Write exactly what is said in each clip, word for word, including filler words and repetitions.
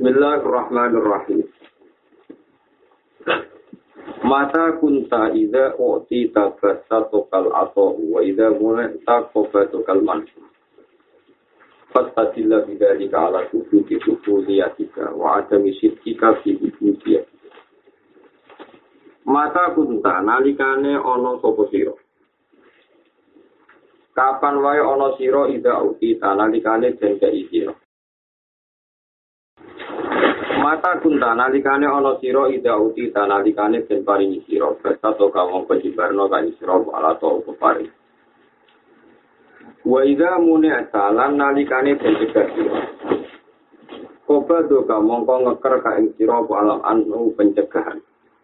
Bismillahirrahmanirrahim. Mata kunta idza u'tita fasatukal atau wa idza munta qafatukal mansu. Fastadilla bidzalika ala subuti subudiyatika wa adami syirkika fi ibudiyah. Mata kunta nalikane ana sapa sira. Kapan wae ana sira idza u'tita nalikane den kei sira. Mata kunta nalikane ana sira ida uti nalikane den paringi sira basa to kawong pejibarno kan sira ala to pepari wa ida mune asalan nalikane den cegah sira koba do kamongko ngeker ka ing sira alam anu pencegahan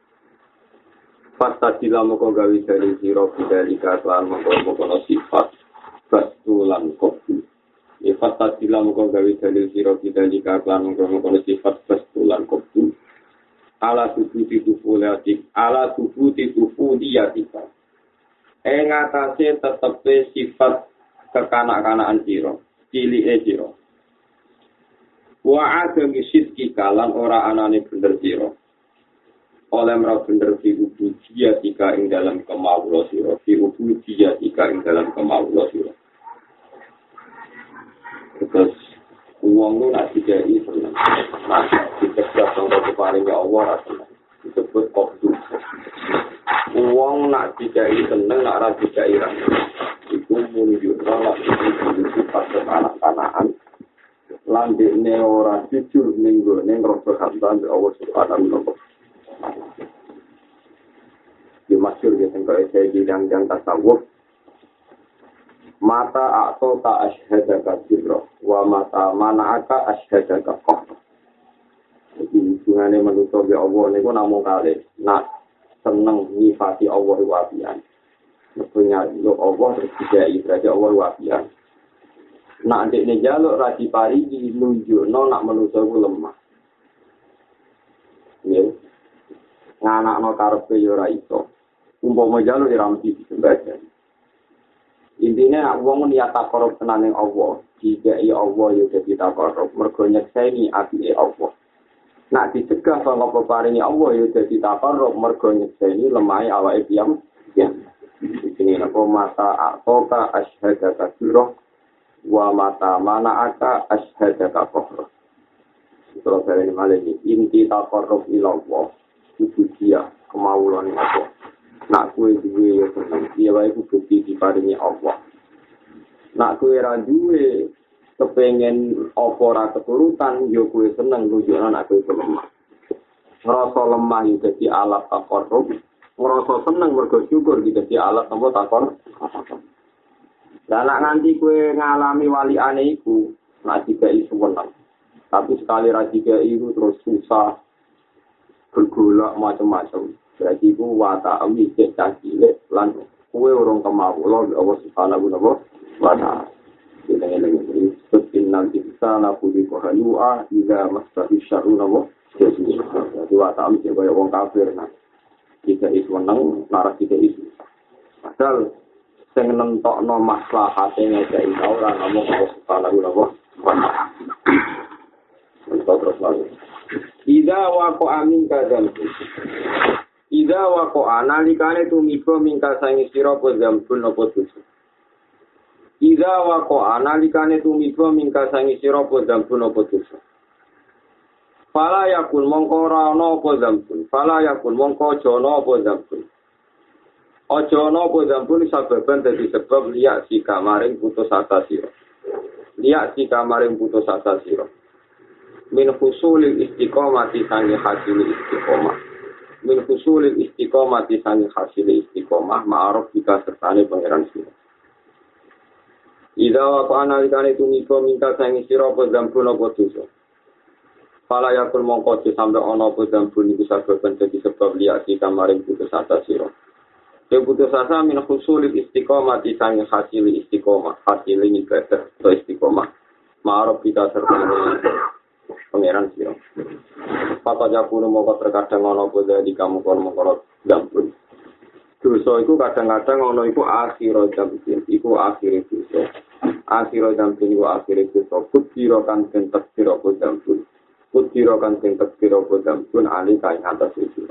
pasta dilamoko gawe dari sira bidalika lan mongko-mongko sifat basulan kopi Ifat tadila muka gawe dalil siro kita jika klan mengkono sifat bestulan kopi ala tubuh titufu liatik ala tubuh titufu diatika ing atase tetepe sifat kekanak-kanakan siro cili e siro wa agami sidki kalan ora anane bener siro oleh merah bener fi ubu diatika ing dalam kemawulo siro fi ubu diatika ing dalam kemawulo siro. Terus uang lu nak dikai senang, nak dicegah sama keparingnya Allah senang, disebut qobdu. Uang nak dikai senang, nak rasa dikai rasa, itu menunjukkan nak sifat kekanak-kanakan. Landik ne orang jujur minggu ne ngerasa hamdan Allah Subhanahu wa taala. Dimaksud dia tentang saya bilang yang tasawuf. Mata atau tak asyhadaka sirra wa mata mana'aka asyhadaka qahra. Jadi hubungannya manusia be Allah niku namung kalih nak seneng nyifati Allah wabian. Maksudnya lo Allah terus dikai berarti Allah wabian. Nak ndekne jaluk ra diparingi nunjukno nak manusia ku lemah. Ya. Nganakno karepe yo ora iso. Umpama jaluk ora mesti disembah. Intinya wong niat takarub tenan ning Allah, jika iya Allah ya dadi takarub, mergo nyekseni atine Allah. Nak dicegah saka peparinge Allah ya dadi takarub, mergo nyekseni lemahe awake piyam. Ya. Iki napa mata atoka asyhadaka sirra wa mata mana'aka asyhadaka qahra. Terus dari malih inti takarub ila Allah, itu dia kemauan Allah. Nak kue duwe ya seneng, dia wae bukti diparingi Allah. Nak kue ra duwe kepengen apa ora keturutan, yo kue seneng nunjukno nak kue lemah. Ngrasa lemah yo dadi alat takarrub, ngrasa seneng mergo syukur iki dadi alat apa takon. Lah nak nganti kue ngalami waliane iku, nak dikai suwenang. Tapi sekali ra dikai iku terus susah bergolak macam-macam. Berarti ku wata ami cek cilik lan kuwe urung kemawula Allah Subhanahu wa taala. Dene-dene setin nanti sana pudi kohanua ida masahi syaruna wa jadi wata ami cek kaya wong kafir nah. Kita is weneng lara kita is. Padahal sing nentokno maslahate ngajak ora namung Allah Subhanahu wa taala. Terus lagi. Ida wa ko amin kadzal. Ida wa ko analikane tumiba mingkal sangi sira apa zambun apa dosa. Ida wa ko analikane tumiba mingkal sangi sira apa zambun apa dosa. Fala yakun mongko ora ana apa zambun. Fala yakun mongko aja ana apa zambun. Aja ana apa zambun sababan dadi sebab liya si kamaring putus asa sira. Liya si kamaring putus asa sira. Min husulil istiqomati sangi hasil istiqomah. Min husulil istiqomati sangi hasil istiqomah ma'aruf jika sertane pangeran sira. Ida wa analikane tumiba minta sangi sira apa zambun apa dosa. Fala yakun mongko sampe ana apa zambun iku sababan dadi sebab liati kamaring putus asa sira. Ya putus asa min husulil istiqomati sangi hasil istiqomah, hasil ibadah atau istiqomah. Ma'aruf jika sertane pangeran sira. Papa jakuno moko terkadang ana apa dari kamu kono-kono zambun. Dosa iku kadang-kadang ana iku akhir zambun, iku akhir dosa. Akhir zambun iku akhir dosa. Kutiro kan den tektir apa zambun. Kudiro kan sing tekiro bodam pun ali kain atas itu.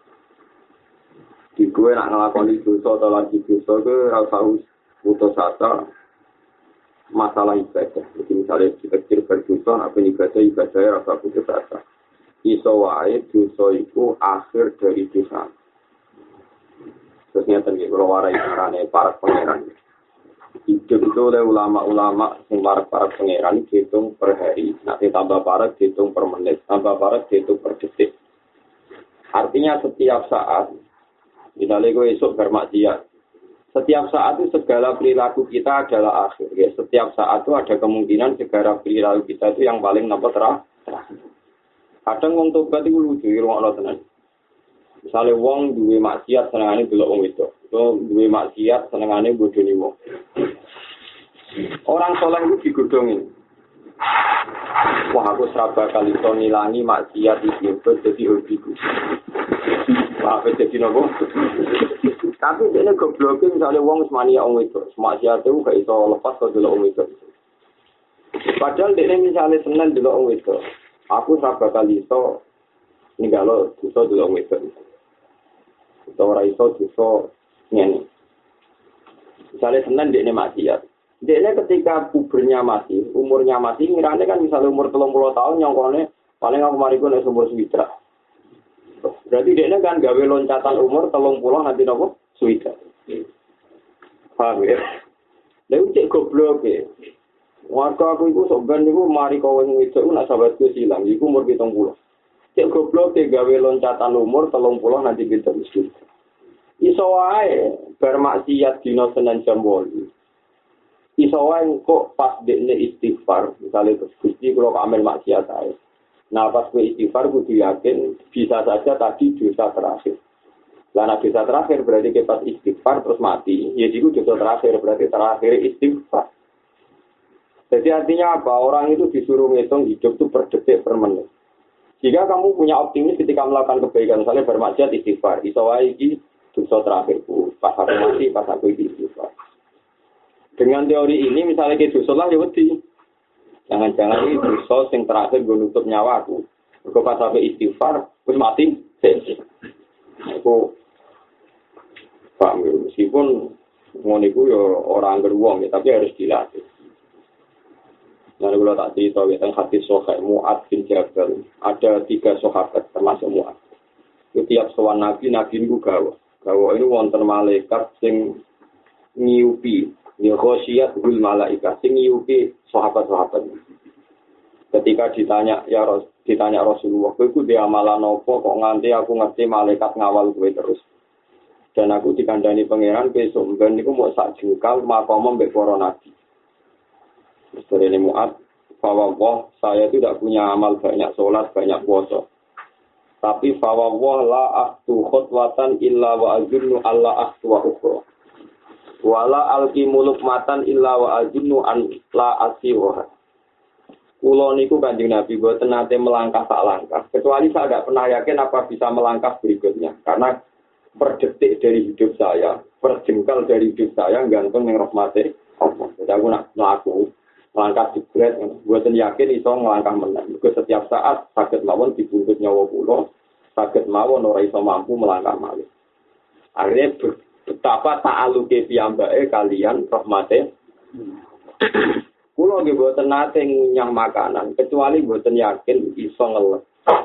Di gue nak ngelakoni dosa atau lagi dosa ke rasa putus asa masalah ibadah. Jadi misalnya kecil berdosa, apa ibadah ibadah rasa putus asa. Iso wae dosa itu akhir dari dosa. Terus nyata nih kalau warai carane para pangeran. Hidup itu oleh ulama-ulama yang para pangeran dihitung per hari. Nanti tambah para dihitung per menit, tambah para dihitung per detik. Artinya setiap saat, misalnya gue esok bermaksiat, setiap saat itu segala perilaku kita adalah akhir. Ya. Setiap saat itu ada kemungkinan segala perilaku kita itu yang paling nampak terakhir. Kadang wong tobat itu lucu, rumah tenan. Misalnya wong duwe maksiat senengane delok wong itu, atau duwe maksiat senengane bodoni wong. Orang soleh itu digodhongi. Wah aku seraba kali to ngilangi maksiat iki dadi hobiku. Wah jadi nopo? Tapi dene gobloke misalnya wong semania wong itu, maksiat itu gak iso lepas kok delok wong itu. Padahal dene misalnya seneng delok wong itu. Aku seraba kali to ninggalo dosa delok wong itu. Ora iso dosa ngene. Misalnya seneng dekne maksiat. Dekne ketika pubernya masih, umurnya masih, ngirane kan misalnya umur tiga puluh tahun nyongkone paling aku mariku nek umur swidak. Berarti dekne kan gawe loncatan umur tiga puluh nanti nopo? Swidak. Paham ya? Lha cek goblok e. Warga aku iku sok ben niku mari kowe ngiduk nak sahabatku silang iku umur pitung puluh. Cek goblok e gawe loncatan umur tiga puluh nanti kita miskin. Iso wae bermaksiat dina Senin jam delapan. Iso wae kok pas dekne istighfar, misalnya terus Gusti kula amel maksiat ae. Nah pas kowe istighfar kudu yakin bisa saja tadi dosa terakhir. Lah nek dosa terakhir berarti ke pas istighfar terus mati, ya iku dosa terakhir berarti terakhir istighfar. Jadi artinya apa? Orang itu disuruh ngitung hidup itu per detik per menit. Jika kamu punya optimis ketika melakukan kebaikan, misalnya bermaksiat istighfar, iso wae iki dosa terakhirku, pas aku mati, pas aku istighfar. Dengan teori ini, misalnya ke dosa lah ya wedi. Jangan-jangan ini dosa yang terakhir gue nutup nyawa aku. Kalau pas aku istighfar, terus mati, sensi. Aku paham ya, meskipun ngoniku ya orang beruang ya, tapi harus dilatih. Nah, kalau tak cerita, tentang hadis Sahih Mu'ad bin Jabal, ada tiga sahabat termasuk Mu'ad. Setiap sowan Nabi, Nabi itu gawa. Gawa ini wonten malaikat sing nyiupi, ya khosyat hul malaikat sing nyiupi sahabat-sahabat. Ketika ditanya ya Ros, ditanya Rasulullah, "Kowe dia amalan apa kok nganti aku ngerti malaikat ngawal kowe terus?" Dan aku dikandani pangeran besok ben niku mau sak jengkal makom mbek para nabi. Setelah ini Mu'ad, fawawah, saya tidak punya amal banyak sholat, banyak puasa. Tapi fawawah la ahtu khutwatan illa wa azunnu alla ahtu wa ukhra. Wala alki muluk matan illa wa azunnu an la asiroha. Kulo niku Kanjeng Nabi boten nate melangkah tak langkah. Kecuali saya tidak pernah yakin apa bisa melangkah berikutnya. Karena per detik dari hidup saya, per jengkal dari hidup saya, gantung yang rahmati Allah. Jadi aku nak melaku. Melangkah jebret, buatan yakin iso ngelangkah menang. Juga setiap saat sakit mawon dibungkus nyawa pulau, sakit mawon ora iso mampu melangkah malih. Akhirnya betapa ta'aluke piyambake kalian rahmate. Kulo nggih boten nate nyang makanan, kecuali boten yakin iso ngeles.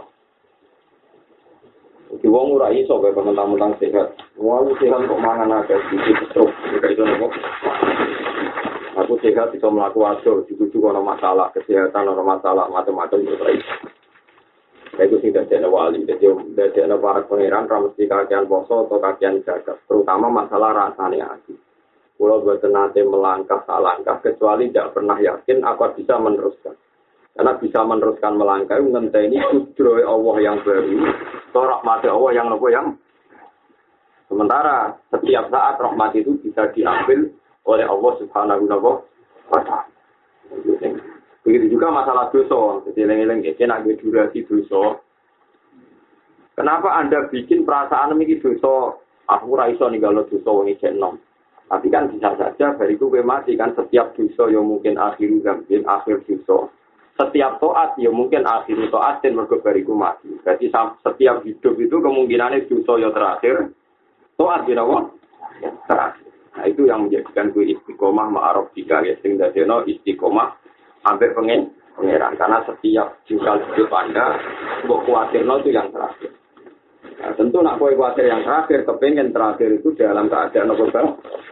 Iki wong ora iso kaya mentang-mentang sehat. Wong sehat kok mangan akeh sedikit terus kaya itu nopo. Aku sehat bisa melakukan wajo, dituju kalau masalah kesehatan, kalau masalah macam-macam itu terus. Itu tidak ada wali, jadi tidak ada para pangeran, mesti kakian poso atau kakian jaga, terutama masalah rasanya hati. Kalau buat nanti melangkah tak langkah, kecuali tidak pernah yakin apa bisa meneruskan. Karena bisa meneruskan melangkah, ngenteni kudroy Allah yang baru, atau rahmati Allah yang nopo yang. Sementara setiap saat rahmat itu bisa diambil oleh Allah Subhanahu wa taala. Begitu juga masalah dosa, jadi eleng-eleng iki nek durasi dosa. Kenapa Anda bikin perasaan iki dosa? Aku ora iso ninggalo dosa wong iki enom. Tapi kan bisa saja bariku kowe mati kan setiap dosa yang mungkin akhir zambin, akhir dosa. setiap toat ya mungkin akhir toatin mergo bariku mati. Berarti setiap hidup itu kemungkinannya dosa ya terakhir, toat ya apa? Terakhir. Nah itu yang menjadikan gue istiqomah ma'aruf jika ya sing dadeno istiqomah hampir pengen pengeran karena setiap jengkal hidup Anda mbok kuatirno itu yang terakhir. Nah, tentu nak kowe kuatir yang terakhir, kepengen terakhir itu dalam keadaan apa bang?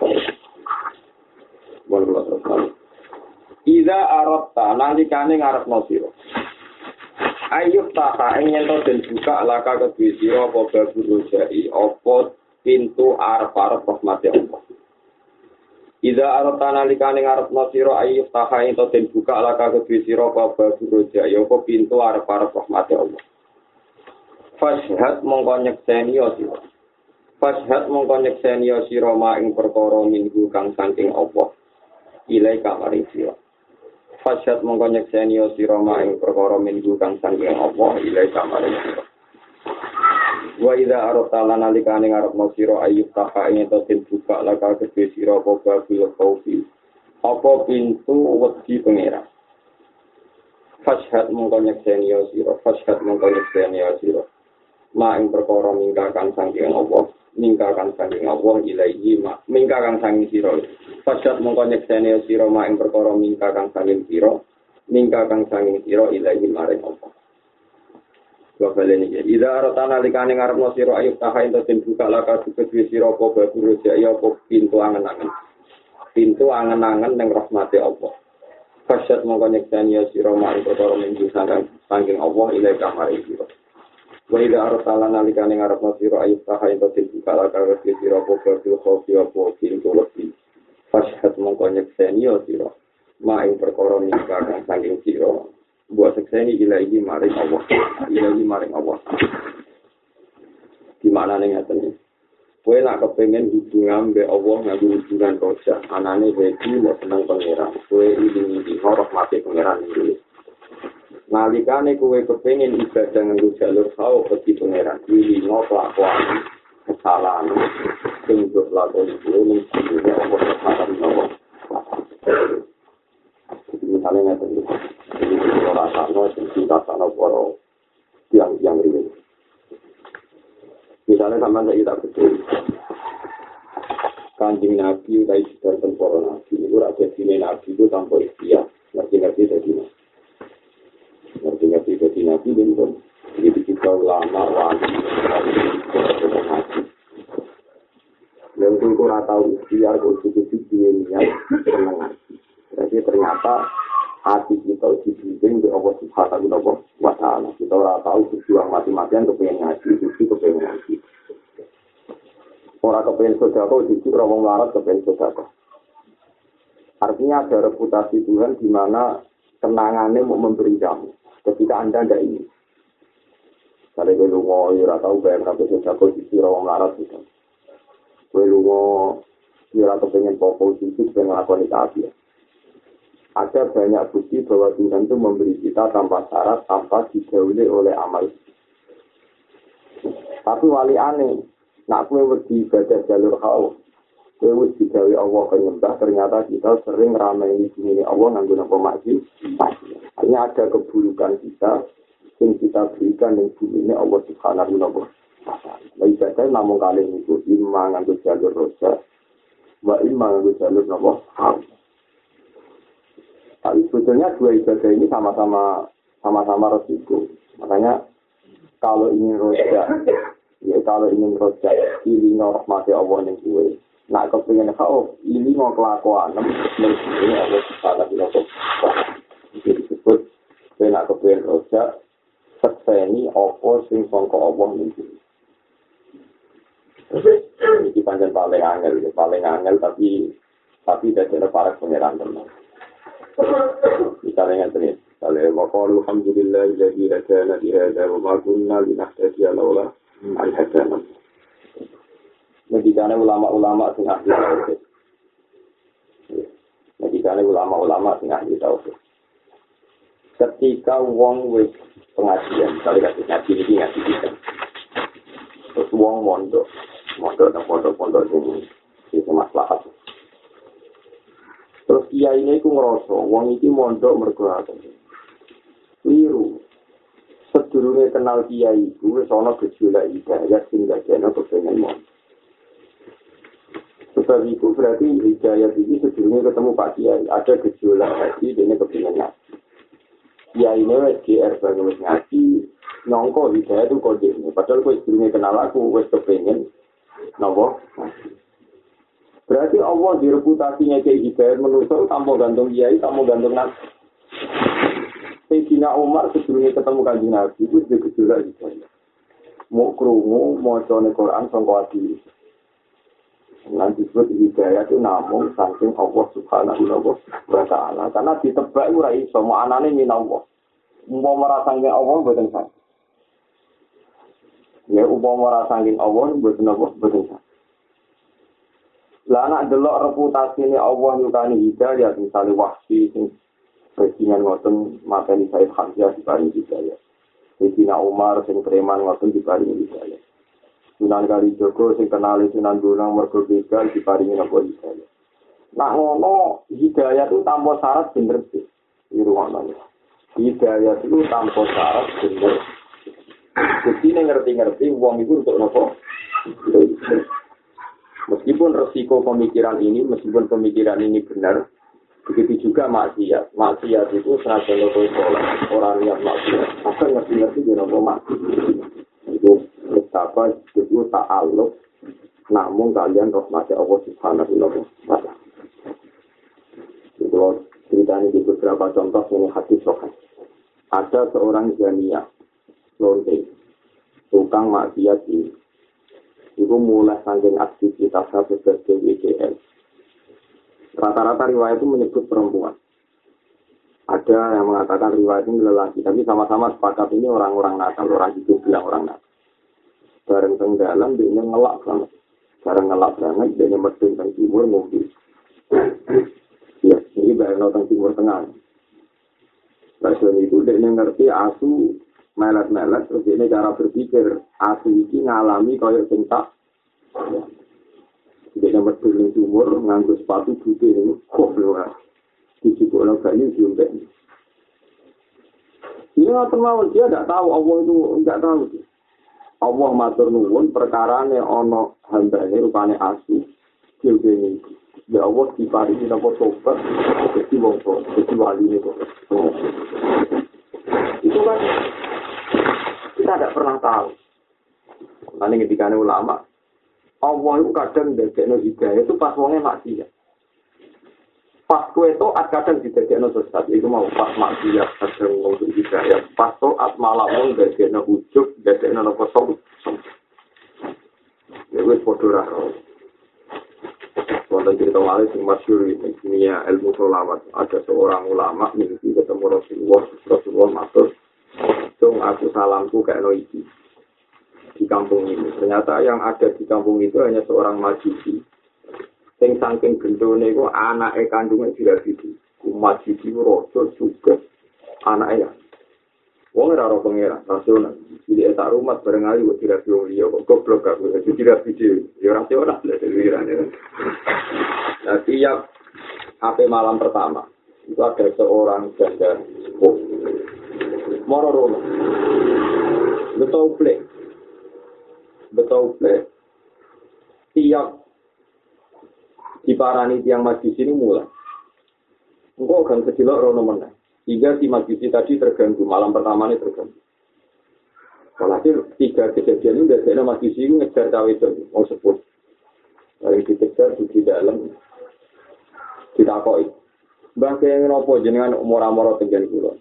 Boleh terus. Iza arabta nalikane ngarepno sira. Ayub taka ingin to den buka laka kedue sira apa babul jai apa pintu arep-arep rahmate Allah. Iza arabta nalikane ngarepno sira ayub taka ingin to den buka laka kedue sira apa babul jai apa pintu arep-arep rahmate Allah. Fashhad mongko nyekseni ya sira. Fashhad mongko nyekseni ya sira ma ing perkara minggu kang saking Allah. Ilai kamaring sira. Fashhad mongko nyekseni ya sira ma ing perkara minggu kang saking Allah. Ilai kamaring sira. Wa idza arata lan alikane ngarepno sira ayub taka ing to den buka laka kedhe sira apa babil khaufi. Apa pintu wedi pangeran. Fashhad mongko nyekseni ya sira. Fashhad mongko nyekseni ya sira. Ma ing perkara mingkakan saking Allah, mingkakan saking Allah ilaihi ma mingkakan saking sira. Fasad mongko nyekseni sira ma ing perkara mingkakan saking sira, mingkakan saking sira ilaihi maring Allah. Wabale niki ida artana likane ngarepno sira ayub taha ento den buka laka kedue sira apa babur jaya apa pintu angen-angen. Pintu angen-angen ning rahmate Allah. Fasad mongko nyekseni sira ma ing perkara mingkakan saking Allah ilaihi maring sira. Wa idza arsala nalikane ngarepno sira ayub taha ento den buka laka kedue sira apa babur khofi apa pintu wedi. Fashhad mongko nyekseni sira ma ing perkara mingkakan saking sira. Buat sekseni ilahi maring Allah, ilahi maring Allah. Gimana nih ngeten? Kowe nak kepengen hubungan be Allah nganggo hubungan roja, anane wedi mau seneng pangeran. Kowe ini horok mati pangeran iki. Nalikane kowe kepengen ibadah nganggo jalur sawo bagi pangeran, iki ngopo kelakuan kesalahan sing dilakoni kuwi ning Allah Subhanahu. Misalnya ngeten iki. Rasanya cinta sana poro yang yang ini. Misalnya sama saya tak betul. Kanjeng Nabi utai sudah temporo Nabi. Itu rakyat sini Nabi itu tanpa ikhtiar. Ngerti-ngerti jadi Nabi. Ngerti-ngerti jadi Nabi. Jadi kita ulama, wali, Nabi. Yang itu rata ikhtiar, konstitusi dunia, senang Nabi. Jadi ternyata hati kita dibimbing oleh Allah Subhanahu wa Ta'ala. Kita ora tahu berjuang mati-matian kepengen ngaji, itu kepengen ngaji. Orang kepengen sedekah, itu orang wong larat kepengen sedekah. Artinya ada reputasi Tuhan di mana kenangannya mau memberi kamu. Ketika Anda tidak ingin. Kalau gue lungo, ora tahu bayang sampai sedekah itu orang wong larat gitu. Gue lungo, ora kepengen pokok itu pengen ngelakuin itu. Ada banyak bukti bahwa Tuhan itu memberi kita tanpa syarat, tanpa didahului oleh amal. Tapi wali aneh, nak kue wedi ibadah jalur hawa, kue wedi gawe Allah penyembah, ternyata kita sering ramai di sini Allah nganggo napa maksi. Hanya ada keburukan kita, yang kita berikan yang bumi ini Allah Subhanahu wa Ta'ala. Ibadah namun kali itu imma nganggo jalur roja, wa imma nganggo jalur napa hawa. Tapi sebetulnya dua ibadah ini sama-sama sama-sama resiko. Makanya kalau ingin roja, ya kalau ingin roja, ini rahmati Allah yang gue. Nak kepengen kau, ini mau kelakuan, ini Allah Subhanahu wa Ta'ala. Jadi disebut, saya nak kepengen roja, sekseni apa sing sangka Allah yang gue. Ini panjang paling angel, paling angel tapi tapi tidak ada para pengeran teman. Misalnya yang misalnya waqalu alhamdulillah alladzi hadana li hadza wa ma kunna linahtadiya laula an hadana. Medikane ulama-ulama sing ahli tauhid. Medikane ulama-ulama sing ahli tauhid. Ketika wong wis pengajian, kali kasih ngaji iki ngaji iki. Terus wong mondok, mondok nang pondok-pondok sing sing maslahat. Terus kiai ini aku ngerasa, wong iki mondok mergo apa? Keliru. Sedurunge kenal kiai iku wis ana gejolak hidayah sing dadekno kepengin mon. Sebab itu berarti hidayah ini sedurunge ketemu Pak Kiai, ada gejolak hati dene kepengin ngaji. Kiai ini wis G R banget wis ngaji, nyongko hidayah itu kode ini. Padahal kowe sedurunge kenal aku wis kepengin napa? Berarti Allah di reputasinya kayak hidayah menusuk tanpa gantung kiai, tanpa gantung nabi. Sayyidina Umar sebelumnya ketemu kanjeng Nabi itu dia gejolak hidayah. Mau krungu, mau cone Quran sangka ati. Nanti disebut hidayah itu namun saking Allah Subhanahu wa taala. Karena ditebak ora iso, mau anane min Allah. Umpama rasane Allah mboten sak. Ya umpama rasane Allah mboten apa mboten sak. Lah anak delok reputasine Allah nyukani hidayah misalnya Wahsy sing Presiden ngoten materi Said Hamzah diparingi hidayah. Sayyidina Umar sing preman ngoten diparingi hidayah. Sunan Kalijaga sing kenal Sunan Bonang mergo begal diparingi napa hidayah. Nak ngono hidayah itu tanpa syarat bener sih. Iki rumakno. Hidayah itu tanpa syarat bener. Jadi ngerti-ngerti wong itu untuk napa? Meskipun resiko pemikiran ini, meskipun pemikiran ini benar, begitu juga maksiat. Maksiat itu senajan logo sholat. Orang yang maksiat akan ngerti-ngerti dia nopo maksiat. Itu betapa itu ta'aluk. Namun kalian rahmati Allah Subhanahu wa taala. Kalau ceritanya di beberapa contoh ini hadis sahih. Ada seorang jania, lonte, tukang maksiat ini. Itu mulai saking aktivitasnya sebagai W K L. Rata-rata riwayat itu menyebut perempuan. Ada yang mengatakan riwayat ini lelaki, tapi sama-sama sepakat ini orang-orang nakal, orang hidup bilang orang nakal. Bareng tenggelam, dia ngelak banget. Bareng ngelak banget, dia medun teng timur mobil. Ya, ini bareng teng timur tengah. Pasal itu dia ngerti asu melet-melet, terus dia cara berpikir asu ini ngalami kayak cinta. Dia medun teng timur, nganggo sepatu putih ini, kok belum dijubukno banyu diumpet. Dia termawon, dia tidak tahu, Allah itu tidak tahu. Allah matur nuwun perkarane ana hambane rupane asu. Dene ya Allah diparingi napa tobat dadi wong tua, dadi wali itu. Itu kan kita tidak pernah tahu. Nanti ketika ulama Allah itu kadang ndadekno hidayah itu pas wonge maksiat. Pas kue to'at kadang didadekno sesat, itu mau pas maksiat kadang untuk hidayah. Pas to'at malah mau didadekno ujub, didadekno nopo som. Ya wis padha ra. Wonten cerita malih sing masyhur ini dunia ilmu sholawat. Ada seorang ulama mimpi ketemu Rasulullah, Rasulullah matur, "Dong aku salamku kayak no iki." Di kampung ini. Ternyata yang ada di kampung itu hanya seorang majusi. Sing saking gendone iku anake kandunge dirabiti. Ku majusi raja juga anake. Wong ora ora pangeran, rasional. Iki tak rumah bareng ali kok dirabi wong liya kok goblok aku. Jadi dirabiti ya rasional lah dhewe-dhewe. Nah, tiap H P malam pertama itu ada seorang janda sepuh. Moro rono. Betul plek. Betul plek. Tiap diparani tiang majlis ini mulai. Engkau akan kecilok rono meneh. Hingga si majlis tadi terganggu. Malam pertama ini terganggu. Walhasil tiga kejadian ini dari majlis ini ngejar cawe itu. Mau sebut. Dari dikejar di dalam. Ditakoi. Mbak kaya ngenopo jenengan umur-umur tinggal kulon.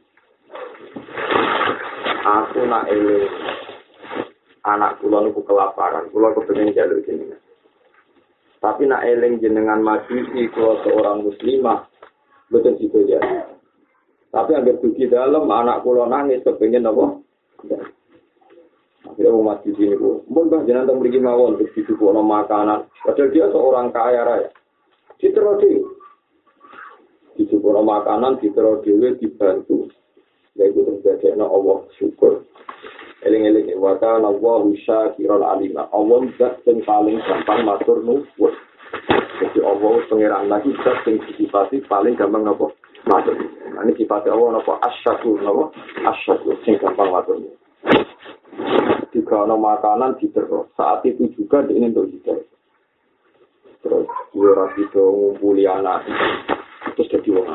Aku nak eling. Anak kulon aku kelaparan. Kulon kepengen jalur jenengan. Tapi nak eling jenengan majusi kalau seorang muslimah betul situ ya. Tapi agar dugi dalam anak kula nangis kepengen apa? Akhirnya mau majusi ini bu. Mbak bah jenengan tak beri mawon terus disuguhkan makanan. Padahal dia seorang kaya raya. Diterodi. Disuguhkan makanan, diterodi, dibantu. Yaitu terjadi Allah syukur. Eling-eling wa kana Allahu syakiran alima. Allah zat sing paling gampang matur nuwun. Jadi Allah pangeran lagi zat sing sifat paling gampang napa matur. Ini sifat Allah napa asyakur napa asyakur sing gampang matur. Jika ada makanan diterus, saat itu juga dia ingin untuk hidup. Terus dia rapi ngumpuli anak, terus jadi orang.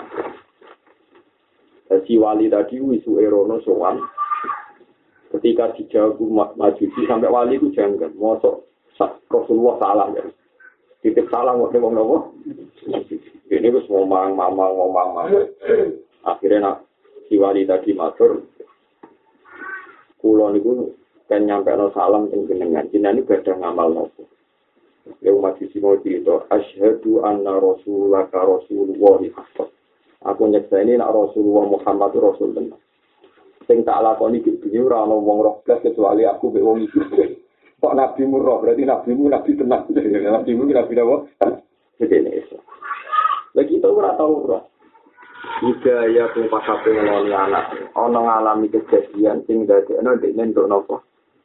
Si wali tadi wisu erono sowan, ketika dijawab majusi sampai wali itu janggal, mosok Rasulullah salam ya. Titip salam waktu wong nopo. Ini wis ngomong mamang ngomong mamang. Akhirnya nak si wali tadi matur, kulo niku kan nyampe no salam teng jenengan. Jenengan iki badhe ngamal nopo. Ya umat sisi mau itu asyhadu anna rasulaka rasulullah haqqan. Aku nyekseni nak Rasulullah Muhammad Rasul tenan. Sing tak lakoni iki dhewe ora ana wong roh blas kecuali aku mek wong iki. Kok nabi murah berarti nabimu nabi tenan. Nabimu nabi apa? Jadi itu. Lagi itu ora tau ora. Hidayah pun pas ape ngeloni anak. Ana ngalami kejadian sing dadekno dekne entuk napa?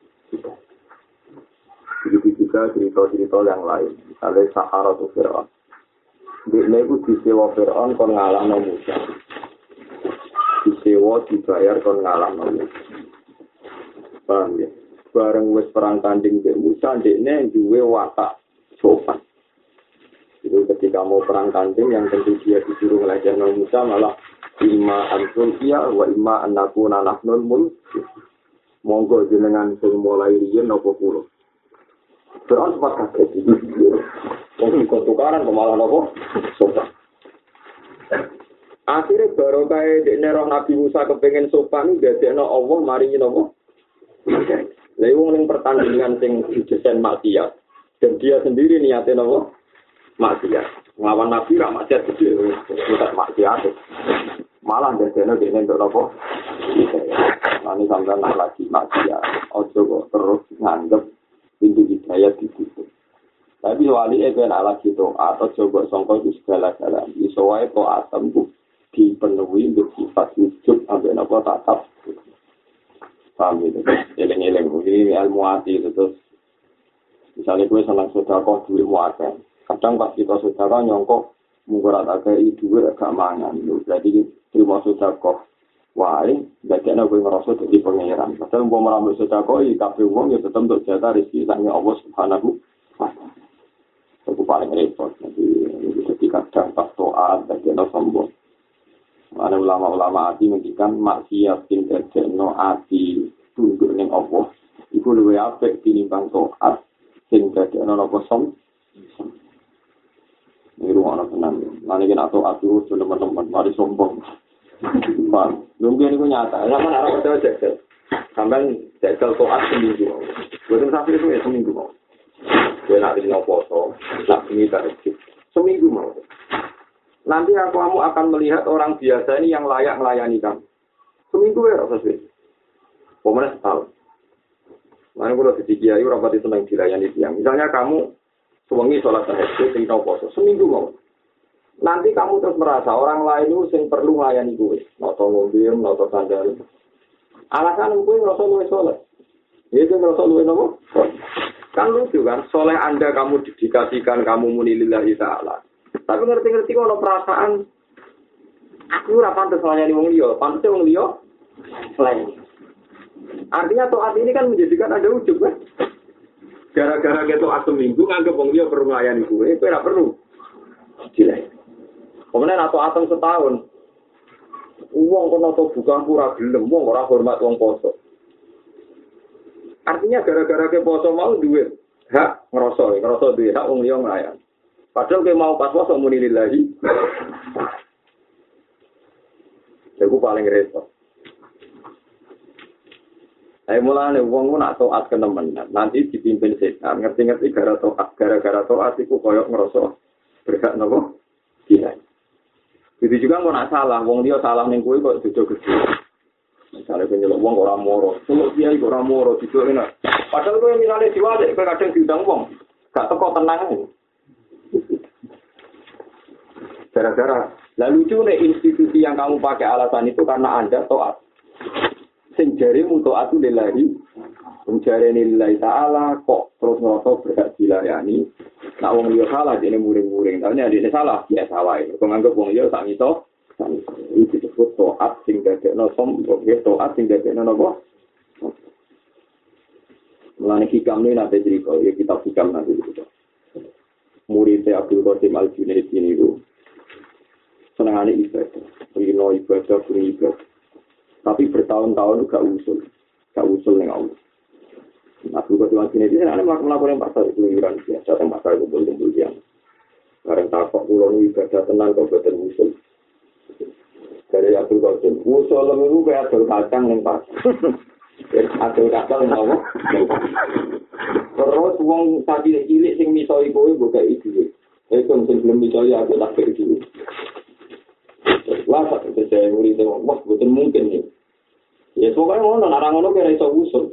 Begitu juga cerita-cerita yang lain. Misalnya Sahara atau Fir'aun. Dekne itu disewa Fir'aun kon ngalahno Musa. Disewa dibayar kon ngalahno Musa. Paham ya? Bareng wis perang tanding mbek Musa, dekne duwe watak sopan. Itu ketika mau perang tanding yang tentu dia disuruh ngelajahno Musa malah imma antulkiya wa imma annakuna nahnul mulk. Monggo jenengan sing mulai riyen napa kula. Fir'aun sempat kaget itu. Wong kok tukaran malah napa? Sopan. Akhirnya baru kayak dekne roh Nabi Musa kepengen sopan dadekno Allah maringi napa? Lha wong ning pertandingan sing dijesen maksiat dan dia sendiri niatnya napa? Maksiat. Nglawan Nabi ra maksiat gede, tidak maksiat. Malah dadekno dekne entuk napa? Nanti sampai nak lagi maksiat. Ojo kok terus nganggep pintu hidayah ditutup. Tapi wali itu nak lagi doa atau coba songkok itu segala-galanya. Iso wae doa tembuh dipenuhi untuk sifat wujud sampai nopo tatap. Paham gitu? Eleng-eleng. Ini ilmu hati itu terus. Misalnya gue senang sedekah duit muatan. Kadang pas kita sedekah nyongkok mungkin ada kayak duit agak mangan. Berarti terima sedekah. Wah, jadinya gue ngerasa jadi pengeran. Padahal mau merambil sedekah, kabeh wong ya tetap untuk jatah rezeki sangnya Allah Subhanahu wa taala. Itu paling repot. Jadi ketika dampak doa jadinya sombong. Ada ulama-ulama hati mengikan maksiat tinggal jadinya hati tunduk ning Allah. Iku luwih apik tinimbang doa tinggal jadinya nopo som. Ini rumah tenang. Nanti kita doa itu teman-teman mari sombong. Bang, mungkin itu nyata. Sama arah kita jagal. Sampai jagal toat seminggu. Bukan sampai itu ya seminggu mau. Gue nanti mau foto, nak ini tarikh. Seminggu mau. Nanti aku kamu akan melihat orang biasa ini yang layak melayani kamu. Seminggu ya rasa sih. Pemenang setahun. Mana kalau di kiai rapat itu senang dilayani tiang. Misalnya kamu sewengi sholat tahajud, tinggal foto. Seminggu mau. Nanti kamu terus merasa orang lain itu yang perlu melayani gue. Noto mobil, noto sandal. Alasan gue ngerasa gue sholat. Itu ngerasa gue nopo. Kan lucu kan, soleh Anda kamu didikasikan, kamu muni lillahi ta'ala. Tapi ngerti-ngerti kalau perasaan, aku ora pantes melayani wong liya, pantes wong liya selain. Artinya taat ini kan menjadikan ada ujub kan. Gara-gara kita taat seminggu, nganggep wong liya perlu melayani gue, itu ora perlu. Gila. Kemudian atau atom setahun, uang kono atau bukan pura gelem, uang orang hormat uang poso. Artinya gara-gara ke poso mau duit, hak ngerosot, ngerosot duit, hak uang liang layan. Padahal ke mau pas poso muni lillahi. Aku paling repot. Saya mulai uang pun nak toat ke teman, nanti dipimpin setan, ngerti-ngerti gara toat, gara-gara toat itu koyok ngerosot, berhak nopo, gila. Itu juga mau nak salah, wong dia salah ning kowe kok jojo gede. Misalnya kowe nyeluk wong ora moro, nyeluk dia iku ora moro dijuk enak. Padahal kowe misale diwalek kowe kadang diundang wong, gak teko tenang ae. Gara-gara lalu lucu institusi yang kamu pakai alasan itu karena Anda taat. Sing jarimu taat itu lillahi, sing jarene lillahi ta'ala kok terus ngerasa berhak dilayani. Nah, wong liya salah, dia muring-muring. Tapi dia salah, dia salah. Kau nganggep wong liya tak ngiso Ini disebut to'at sing dadekno sombong, ya to'at sing dadekno napa? Mulane hikam ini nanti cerita, ya kita hikam nanti cerita. Muridnya Abdul Qasim Al-Junaid ini itu senangannya ibadah, rino ibadah, beri ibadah. Tapi bertahun-tahun gak usul, gak usul yang Allah. Abdul Qasim Al-Junaid ini ada melakukan yang pasal keluyuran biasa, yang pasal kumpul-kumpul yang karena takut pulau ibadah tenang kau betul usul. Dari Abdul Qasim, usul itu kayak adol kacang yang pasal. Adol kacang yang Allah. Terus wong tadi cilik sing miso iku buka iki. Itu mungkin belum miso ya aku tak iki. Wah, saya murid wong, wah betul mungkin nih. Ya pokoknya ngono, orang ngono kira iso usul.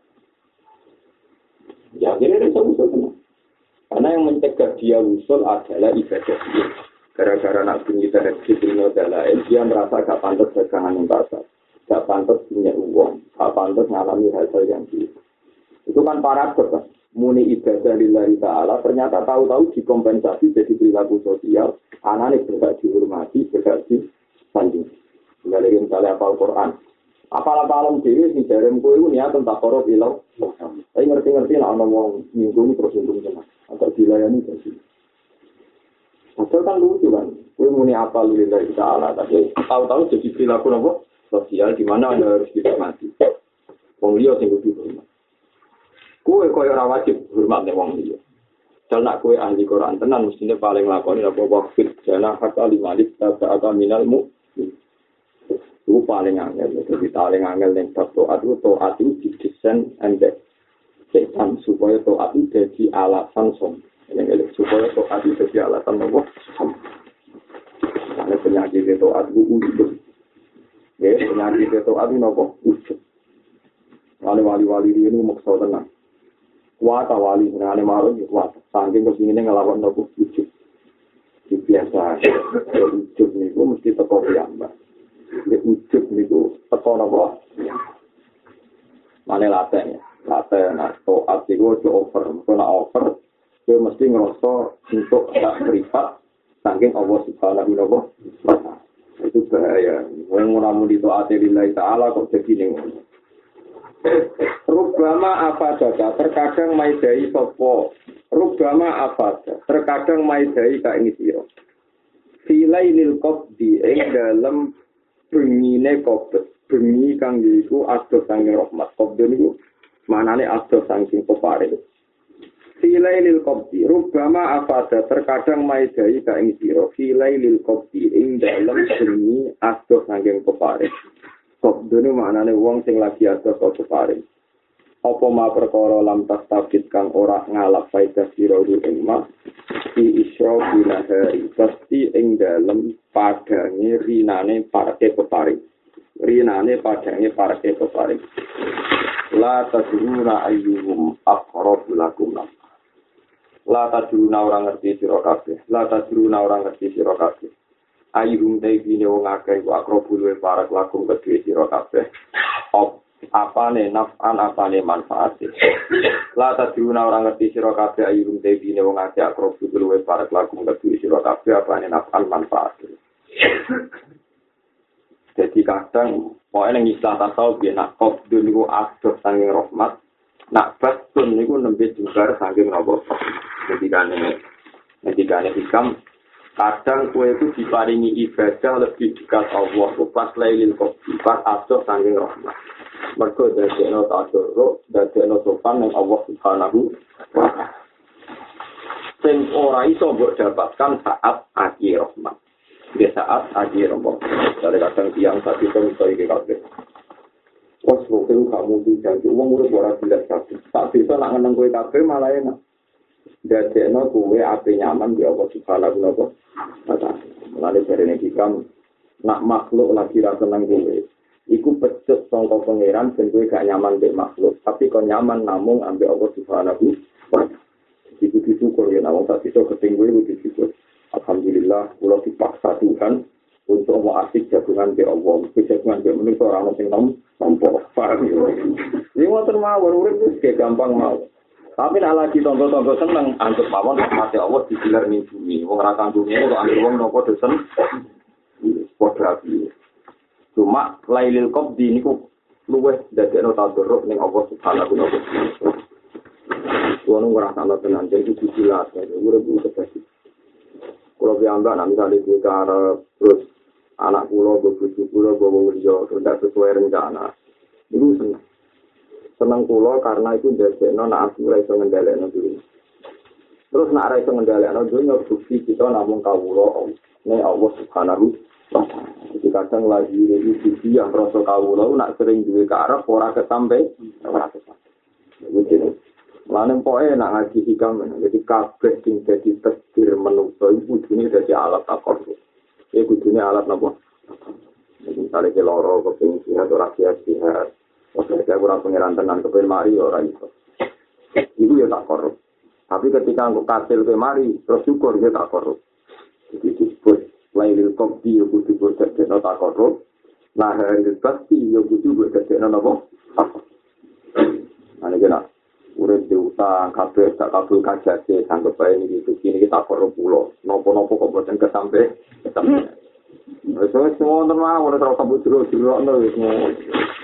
Ya kira iso usul tenan. Karena yang mencegah dia usul adalah ibadah dia. Gara-gara nak bunyi dari dunia dan lain, dia merasa gak pantas dagangan yang pasar. Gak pantas punya uang. Gak pantas mengalami hal-hal yang gitu. Itu kan paradoks kan. Muni ibadah lillahi ta'ala, ternyata tahu-tahu dikompensasi jadi perilaku sosial. Anaknya berhak dihormati, berhak disanding. Dari misalnya apal Quran. Apal-apalan diri, si jarem kue itu niatan tak korup ilau. Tapi ngerti-ngerti lah, ada orang nyinggung terus nyinggung jenak. Atau dilayani jadi. Padahal kan lucu kan. Kue muni apal lillahi ta'ala. Tapi tahu-tahu jadi perilaku apa? Sosial, di mana anda harus dihormati. Wong liya sing kudu hormat. Kowe koyo ora wajib hormat nek wong liya. Dal nak kowe ahli Quran tenan mestine paling lakoni apa wafid jana hatta limalik ta'ata minalmu. Itu paling angel, jadi paling angel ning bab taat itu taat itu didesain embek setan supaya taat itu jadi alasan som. Yang supaya taat itu jadi alasan apa? Som. Karena penyakit taat itu ujub. Ya, penyakit taat itu apa? Ujub. Wali-wali ini maksud tenang. Kuat wali senane marung ya kuat. Saking kepingine ngelawan nopo ujug. Iki biasa. Ujug niku mesti teko piyambak. Nek ujug niku teko napa? Mane laten ya. Laten atau artigo to over. Kena over kowe mesti ngerasa untuk tak privat saking Allah Subhanahu wa taala. Itu bahaya. Wong ora muni taat lillahi ta'ala kok jadi ning Rubama afadaka terkadang maidai sopo Rubama afadaka terkadang maidai ka ing sira Filailil qabdi ing dalem bengine qabd bengi kang iku adoh saking rahmat qabd niku manane adoh saking peparing Filailil qabdi Rubama afada terkadang maidai ka ing sira Filailil qabdi ing dalem bengi adoh saking peparing Qabdune maknane wong sing lagi ada kok paring. Apa ma perkara lam tastabit kang ora ngalap faedah sira ing ma di isra binahari pasti ing dalem padange rinane parke peparing. Rinane padange parke peparing. La tadruna ayyuhum aqrabu lakum. La tadruna ora ngerti sira kabeh. La tadruna ora ngerti sira kabeh. Ayuhum taibine wong akeh ku akrobu luwe para lakum kedue sira kabeh. Op apane naf'an apane manfaat. La tadruna ora ngerti sira kabeh ayuhum taibine wong akeh akrobu luwe para lakum kedue sira kabeh apane naf'an manfaat. Jadi kadang pokoke ning istilah tasawuf ya nak qabdun niku adoh saking rahmat, nak batun niku nembe jembar saking napa. Jadi kane Jadi kane hikam kadang kue itu diparingi ibadah lebih dekat Allah. Pas lailil qabdi, pas adoh saking rahmat. Mergo dadekno ta'adzur, dadekno sopan ning Allah Subhanahu wa taala. Sing ora iso mbok dapatkan saat akhir rahmat. Di saat akhir rahmat. Dari kadang tiang satu itu iso iki kabeh. Wes kok kamu dijanji wong urip ora jelas kabeh. Tak bisa nak ngeneng kowe kabeh malah enak. Dadekno kowe ape nyaman di Allah Subhanahu wa taala. Mulane jarene hikam nak makhluk lagi ra seneng kowe. Iku pecut sangka pangeran ben kowe gak nyaman mbek makhluk, tapi kok nyaman namung ambek Allah Subhanahu wa taala. Iku disyukur ya namung tak iso ketinggu iku disyukur. Alhamdulillah kula dipaksa Tuhan untuk mau asik jagungan ke Allah. Jagungan ke manusia orang sing nom nompo. Paham ya. Ini ngoten mawon urip wis gampang mawon. Tapi nek lagi tonton-tonton seneng antuk mawon mati Allah digilar ning bumi. Wong ora kang bumi kok anggere wong nopo dosen. padha api. Cuma lailil qabdi niku luweh dadekno tadarruk ning Allah Subhanahu wa taala. Kuwi ora ana tenan jadi dijilat, ora bisa terjadi. Kalau biamba nanti kali di cara terus anak pulau, bojo pulau, bawa kerja, tidak sesuai rencana. Itu senang. Senang pulau karena itu dari nona aku rasa ngendalek dulu. Terus nak rasa ngendalek dulu, bukti kita namun kawulo, ini Allah Subhanahu wa taala. Jadi kadang lagi ini bukti yang rasa kawulo, nak sering juga ke arah, orang kesampai, orang kesampai. Begitu. Lain poe nak ngaji hikam, jadi kabeh sing dadi tasbir menungso iku kudune dadi alat takor. Ya kudune alat napa? Misalnya ke loro keping sihat ora sihat-sihat. Oke, saya kurang pengiran tenan keping mari ora iso. Iku ya takor. Tapi ketika engko kasil ke mari, terus syukur ya takor. Jadi disebut lailil qabdi ya kudu dadi takor. Nah, hari pasti ya kudu dadi napa? Takor. Ane kena urip diutang kabeh tak kabul kajate sanggup bae iki iki kita karo pulo nopo-nopo kok boten kesampe kesampe wis wis ngono mah ora terus kabut jero-jero wis ngono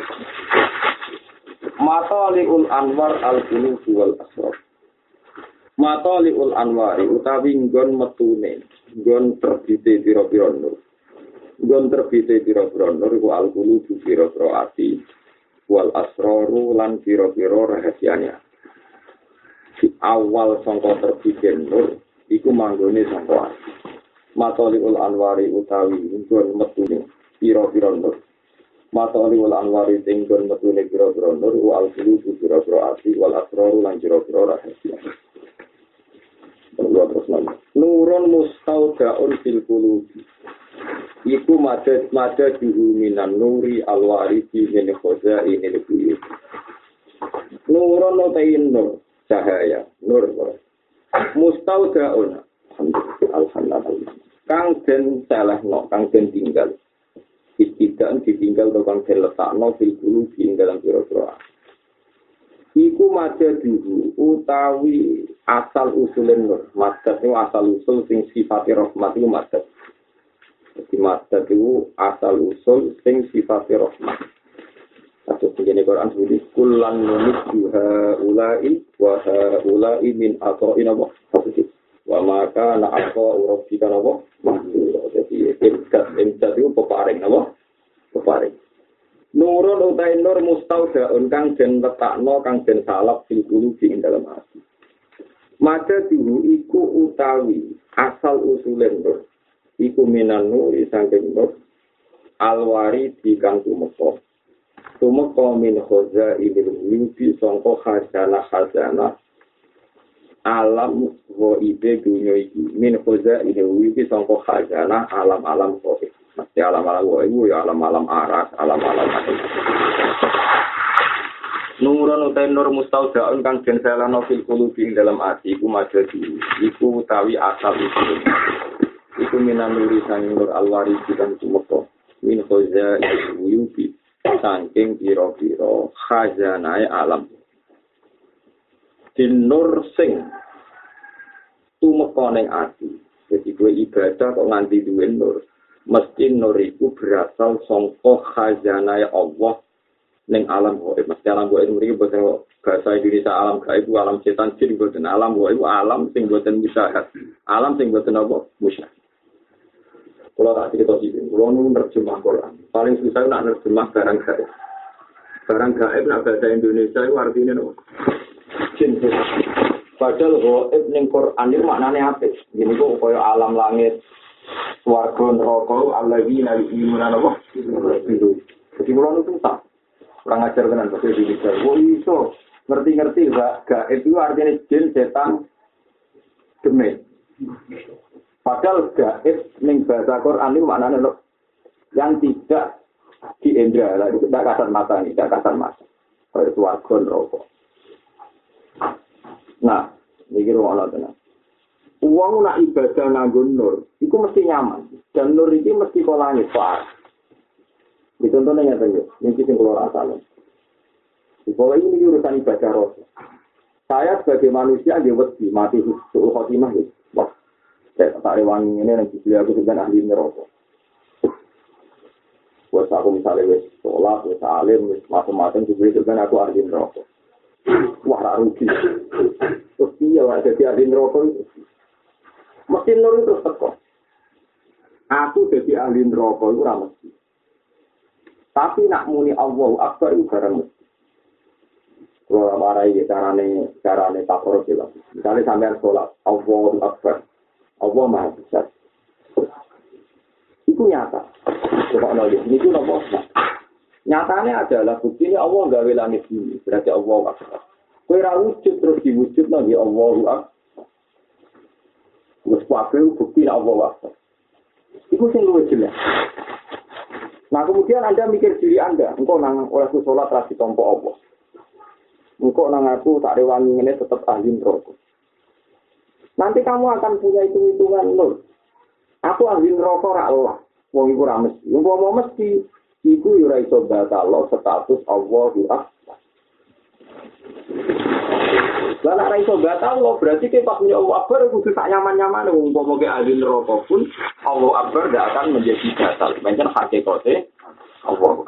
Mataliul Anwar al-Qulub wal Asrar Mataliul Anwari utawi nggon metune nggon terbite pira-pira nur nggon terbite pira-pira nur iku al-Qulub pira-pira ati wal Asraru lan pira-pira rahasiane awal sangka terbiten nur iku manggone sangka Mataliul Anwari utawi nggon metune pira-pira nur Mataliul Anwari nggon metune pira-pira nur wal qulub pira-pira ati wal asraru lan pira-pira rahasia terus nama nurun mustaudaun fil qulub iku madad madad minan nuri alwarisi min khazainil buyut nurun utain nur cahaya nur mustaudaun alhamdulillah kang den salehno kang den tinggal tidak ditinggal to kang den letakno fil qulub ing dalam pira-pira iku madad utawi asal usulen nur madad itu asal usul sing sifate rahmat iku madad jadi madad itu asal usul sing sifate rahmat. Satu begini Quran sebut kullan numissu haula'i wa haula'i min ata'ina wa habdi wa ma kana ata'u rabbika wa mahdur. Jadi imtad imtad itu peparing apa? Peparing. Nurun utai nur mustaudaun kang den letakno kang den salap fil qulubi ing dalam hati. Maka dulu iku utawi asal usulen nur iku minan nuri saking nur alwari di kang tumeka tumeka min khoza ilil mimpi sangka khazanah khazanah alam wa ibe dunya iki min khoza ilil mimpi sangka khazanah alam-alam kok mesti alam-alam wa ibu ya alam-alam aras alam-alam nurun utai nur mustaudaun kang den salano fil qulubi dalam ati iku majadi iku utawi asal usul iku minan nuri sang nur alwari kang tumeka min khoza ilil mimpi saking pira-pira khazanae alam din nur sing tumeka ning ati dadi kowe ibadah kok nganti duwe nur mesti nur iku berasal saka khazanae Allah ning alam gaib mesti alam gaib mriki boten bahasa Indonesia alam gaib alam setan jin boten alam gaib alam sing boten musyahad alam sing boten apa musyahad. Kalau tak cerita sih, kalau nu nerjemah Quran, paling susah nak nerjemah barang gaib. Barang gaib nak bahasa Indonesia itu artinya no. Jin. Padahal gaib ning Quran itu maknanya apa? Jadi kok koyo alam langit, swarga neraka, alladzina yu'minuna apa? Jadi kalau nu susah. Kurang ajar tenan bahasa Indonesia. Oh iso ngerti-ngerti gaib itu artinya jin, setan, demit. Padahal gaib ning bahasa Quran itu maknanya loh, yang tidak diindra, itu tidak kasar mata nih, tidak kasar mata. Kayak swarga neraka. Nah, ini rumah tenang. Uang nak ibadah nganggo nur, itu mesti nyaman. Dan nur itu mesti kolane far. Di contohnya nyata ya, ini sing kula rasane. Di bawah ini urusan ibadah roh. Saya sebagai manusia dia wedi mati suul khotimah gitu. Wah, saya tak rewangi ini yang dibeli aku dengan ahli neraka. Buat aku misalnya wis sholat, wis alim, wis macam-macam Jibril kan aku ahli neraka. Wah, ra rugi. Terus iya lah jadi ahli neraka itu. Mesti nur itu teko. Aku jadi ahli neraka itu ora mesti. Tapi nak muni Allahu Akbar itu barang mesti. Kalau marai carane carane takorup lah. Misalnya sampean sholat Allahu Akbar. Allah Maha Besar. Itu nyata. Coba nolih. Ini itu nopo. Nyatanya adalah bukti ini Allah gawe langit ini. Berarti Allah Akbar. Kue ra wujud terus diwujud lagi Allahu Akbar. Wes kabeh bukti Allah Akbar. Itu sing luwih jelas. Nah kemudian Anda mikir diri Anda, engkau nang oleh sholat ra ditampa Allah. Engkau nang aku tak rewangi ngene tetap ahli neraka. Nanti kamu akan punya hitung-hitungan nol. Aku ahli neraka ora Allah. Wong iku ora mesti. Wong mau mesti iku yo ora iso batal status Allahu Akbar. Lah nek ora iso batal lo berarti ke pas punya Allah Akbar kudu sak nyaman-nyaman wong umpama ke ahli neraka pun Allah Akbar tidak akan menjadi batal. Pancen hakikate Allah.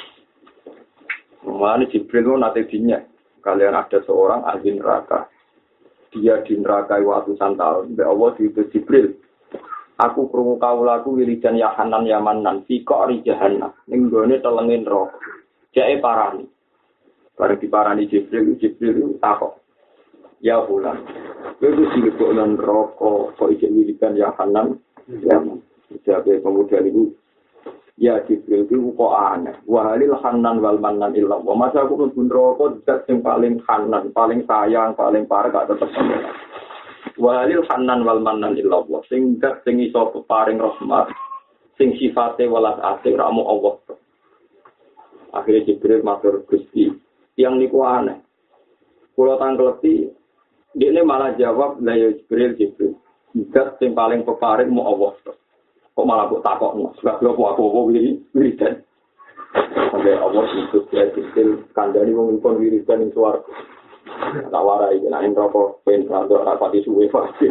Mulane Jibril nate dinya kalian ada seorang ahli neraka. Dia di neraka ratusan tahun. Mbak Allah diutus Jibril. Aku krungu kawulaku wiridan ya Hanan ya Manan fi qari jahannam. Ning gone telengin neraka. Jake parani. Bareng diparani Jibril, Jibril takok. Ya fulan. Kowe wis dilebokno neraka kok iki wiridan ya Hanan ya Manan. Jake pemuda niku ya Jibril itu kok aneh. Wahalil Hanan wal Manan illa wa. Masa aku mlebu neraka zat sing paling Hanan, paling sayang, paling parek gak tetep sampeyan. Wahalil Hanan wal Manan illa wa. Sing zat sing iso paring rahmat, sing sifate welas asih ramu Allah. Akhirnya Jibril matur Gusti, yang niku aneh. Kula tangkleti, dia malah jawab, "La ya Jibril Jibril. Zat sing paling peparing mu Allah." Kok malah kok takokno, sebab lho aku apa wiri wiridan. Sampai Allah itu dia kecil kandani wong kon wiridan ing swarga. Tak warai nek neraka pen rada rapati suwe pasti.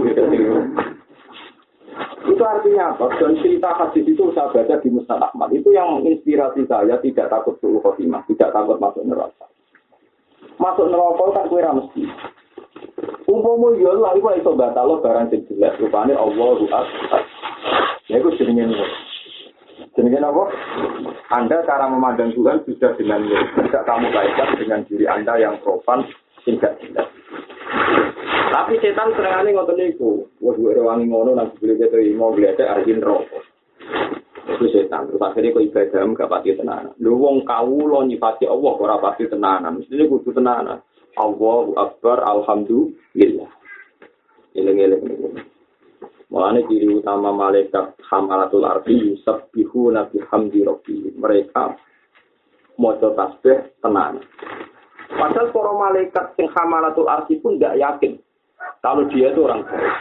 Itu artinya apa? Dan cerita hadis itu saya baca di Musnad Ahmad. Itu yang menginspirasi saya tidak takut suul khotimah, tidak takut masuk neraka. Masuk neraka tak kowe ra mesti. Umpama yo lha iku iso batal barang sing jelas rupane Allahu Akbar. Ya itu jenenge niku. Jenenge apa? Anda cara memandang Tuhan sudah dengan tidak kamu kaitkan dengan diri Anda yang profan tidak jelas. Tapi setan serangane ngoten niku. Wes duwe wangi ngono nang dibeli keto mau gledek arjin rokok. Itu setan. Terus akhirnya kok ibadah gak pati tenanan. Lho wong kawula nyifati Allah ora pati tenanan. Mestine kudu tenanan. Allahu Akbar, alhamdulillah. Eleng-eleng niku. Mulane ciri utama malaikat hamalatul ardi yusabbihuna bihamdi rabbihim. Mereka maca tasbih tenan. Padahal para malaikat sing hamalatul ardi pun tidak yakin kalau dia itu orang baik.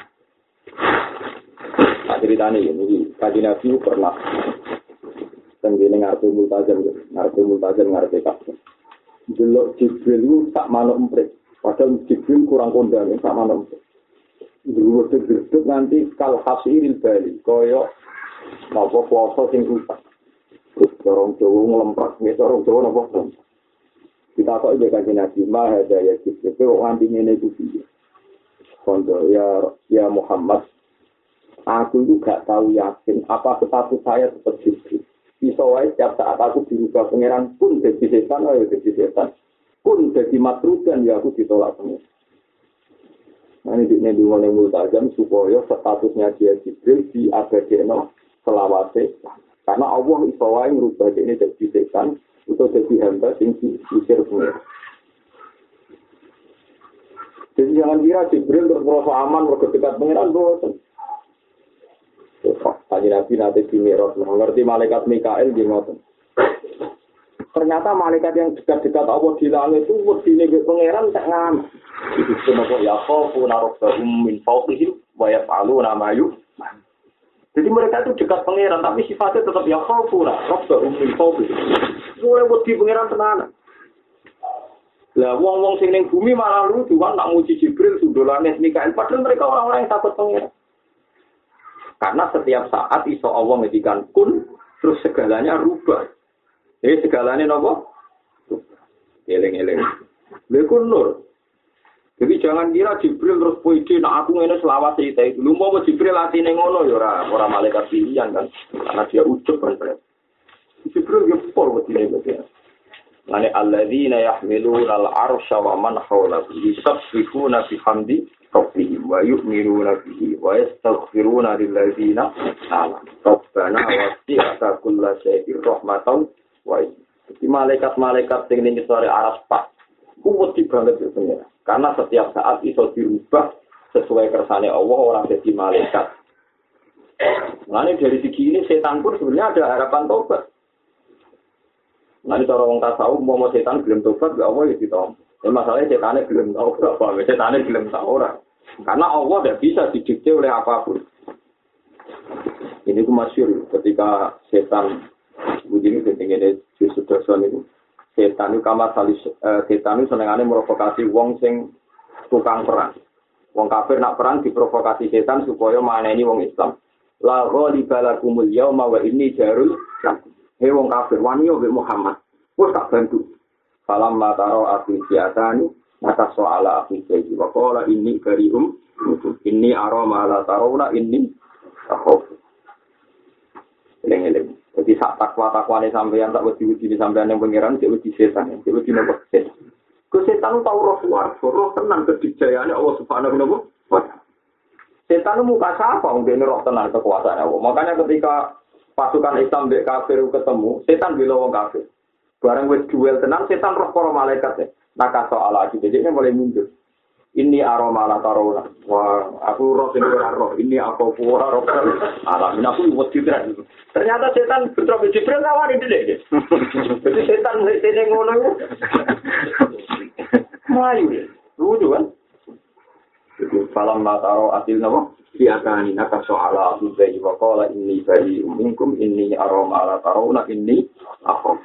Nah, ceritanya ini, kaji Nabi pernah tenggine ngarep multazam, ngarep multazam ngarep kabeh. Delok Jibril itu tak manuk emprit. Padahal Jibril kurang kondang tak manuk emprit. Dulu gedhe nanti kal hasiril bali kaya napa kuasa sing rusak. Terus dorong Jawa nglemprak, nek dorong Jawa napa to. Kita kok iki kanjeng Nabi mah ada ya Jibril kok nganti ngene iku piye. Kondo ya ya Muhammad aku itu gak tahu yakin apa status saya seperti itu. Iso wae setiap saat aku dirubah pangeran pun jadi setan ayo jadi setan. Pun jadi matrudan ya aku ditolak pangeran. Nah, ini di mulai multazam supaya statusnya dia Jibril di abadekno selawase. Karena Allah iso wae ngrubah ini jadi setan atau jadi hamba sing diusir pengiran. Jadi jangan kira Jibril terus merasa aman mergo dekat pengiran boten. Tadi Nabi nanti di Mi'raj mengerti malaikat Mikael di ngoten. Ternyata malaikat yang dekat-dekat Allah di langit itu wedine pengiran tak ngamen. Itu semua ya kau narobbahum min fawqihim wa yaf'aluna ma yu'mar. Jadi mereka itu dekat pangeran tapi sifatnya tetap ya kau narobbahum min fawqihim. Mulai wedi pangeran tenanan. Lah wong-wong sing ning bumi malah lucu kan nak muji Jibril sundolane Mikael padahal mereka orang-orang yang takut pangeran. Karena setiap saat iso Allah ngedikan kun terus segalanya rubah. Jadi segalanya nopo? Eleng-eleng. Lha ku nur. Jadi jangan kira Jibril terus puisi, nah aku ngene selawat cerita itu. Lu mau Jibril atine ngono ya ora, ora malaikat pilihan kan. Karena dia ujug kan. Jibril ya pol wedine iki. Lane alladzina yahmiluna al-arsya wa man hawlahu yusabbihuna bihamdi rabbihim wa yu'minuna bihi wa yastaghfiruna lilladzina amanu. Rabbana wasi'ta kulla shay'in rahmatan wa Jadi malaikat-malaikat sing ning sore aras pak, kuwat banget ya pengira. Karena setiap saat iso diubah sesuai kersane Allah orang jadi malaikat. Nah ini dari segi ini setan pun sebenarnya ada harapan tobat. Nah ini cara orang tasawuf mau setan belum tobat gak Allah ya ditompo. Ini masalahnya setannya belum tahu apa, setannya belum tahu orang. Karena Allah tidak bisa didikte oleh apapun. Ini itu masyhur ketika setan begini pentingnya di sudarsan itu. Setan itu kamar salis, uh, setan itu senengannya merovokasi wong sing tukang perang. Wong kafir nak perang diprovokasi setan supaya maneni wong Islam. La ghaliba lakumul yauma wa inni jarul lakum. Hei wong kafir wani yo Muhammad. Wes tak bantu. Falam mataro afi siatani maka soala afi sayyid wa qala inni karium inni arama la tarawna inni takhaf. Eleng-eleng. Jadi sak takwa-takwane sampeyan tak wedi-wedi sampeyan yang pangeran cek wedi setan, cek wedi nopo setan. Ku setan tau roh swarga, roh tenan kedijayane Allah Subhanahu wa taala. Setan muka sapa wong dene roh tenan kekuasaan Allah. Makanya ketika pasukan Islam mbek kafir ketemu, setan bela wong kafir. Barang wis duel tenan setan roh para malaikat. Maka soal lagi jadi mulai mundur. Ini aroma la tarona. Wah, aku roh sing ora roh. Ini aku ora roh. Alah, aku wedi tenan. Ternyata setan bentrok Jibril nawari dhewe. Jadi setan sene ngono. Mayu. Lucu kan? Jadi falam mataro asil nama siakani naka soala bihi wa qala inni bari minkum inni aroma la tarona inni akhaf.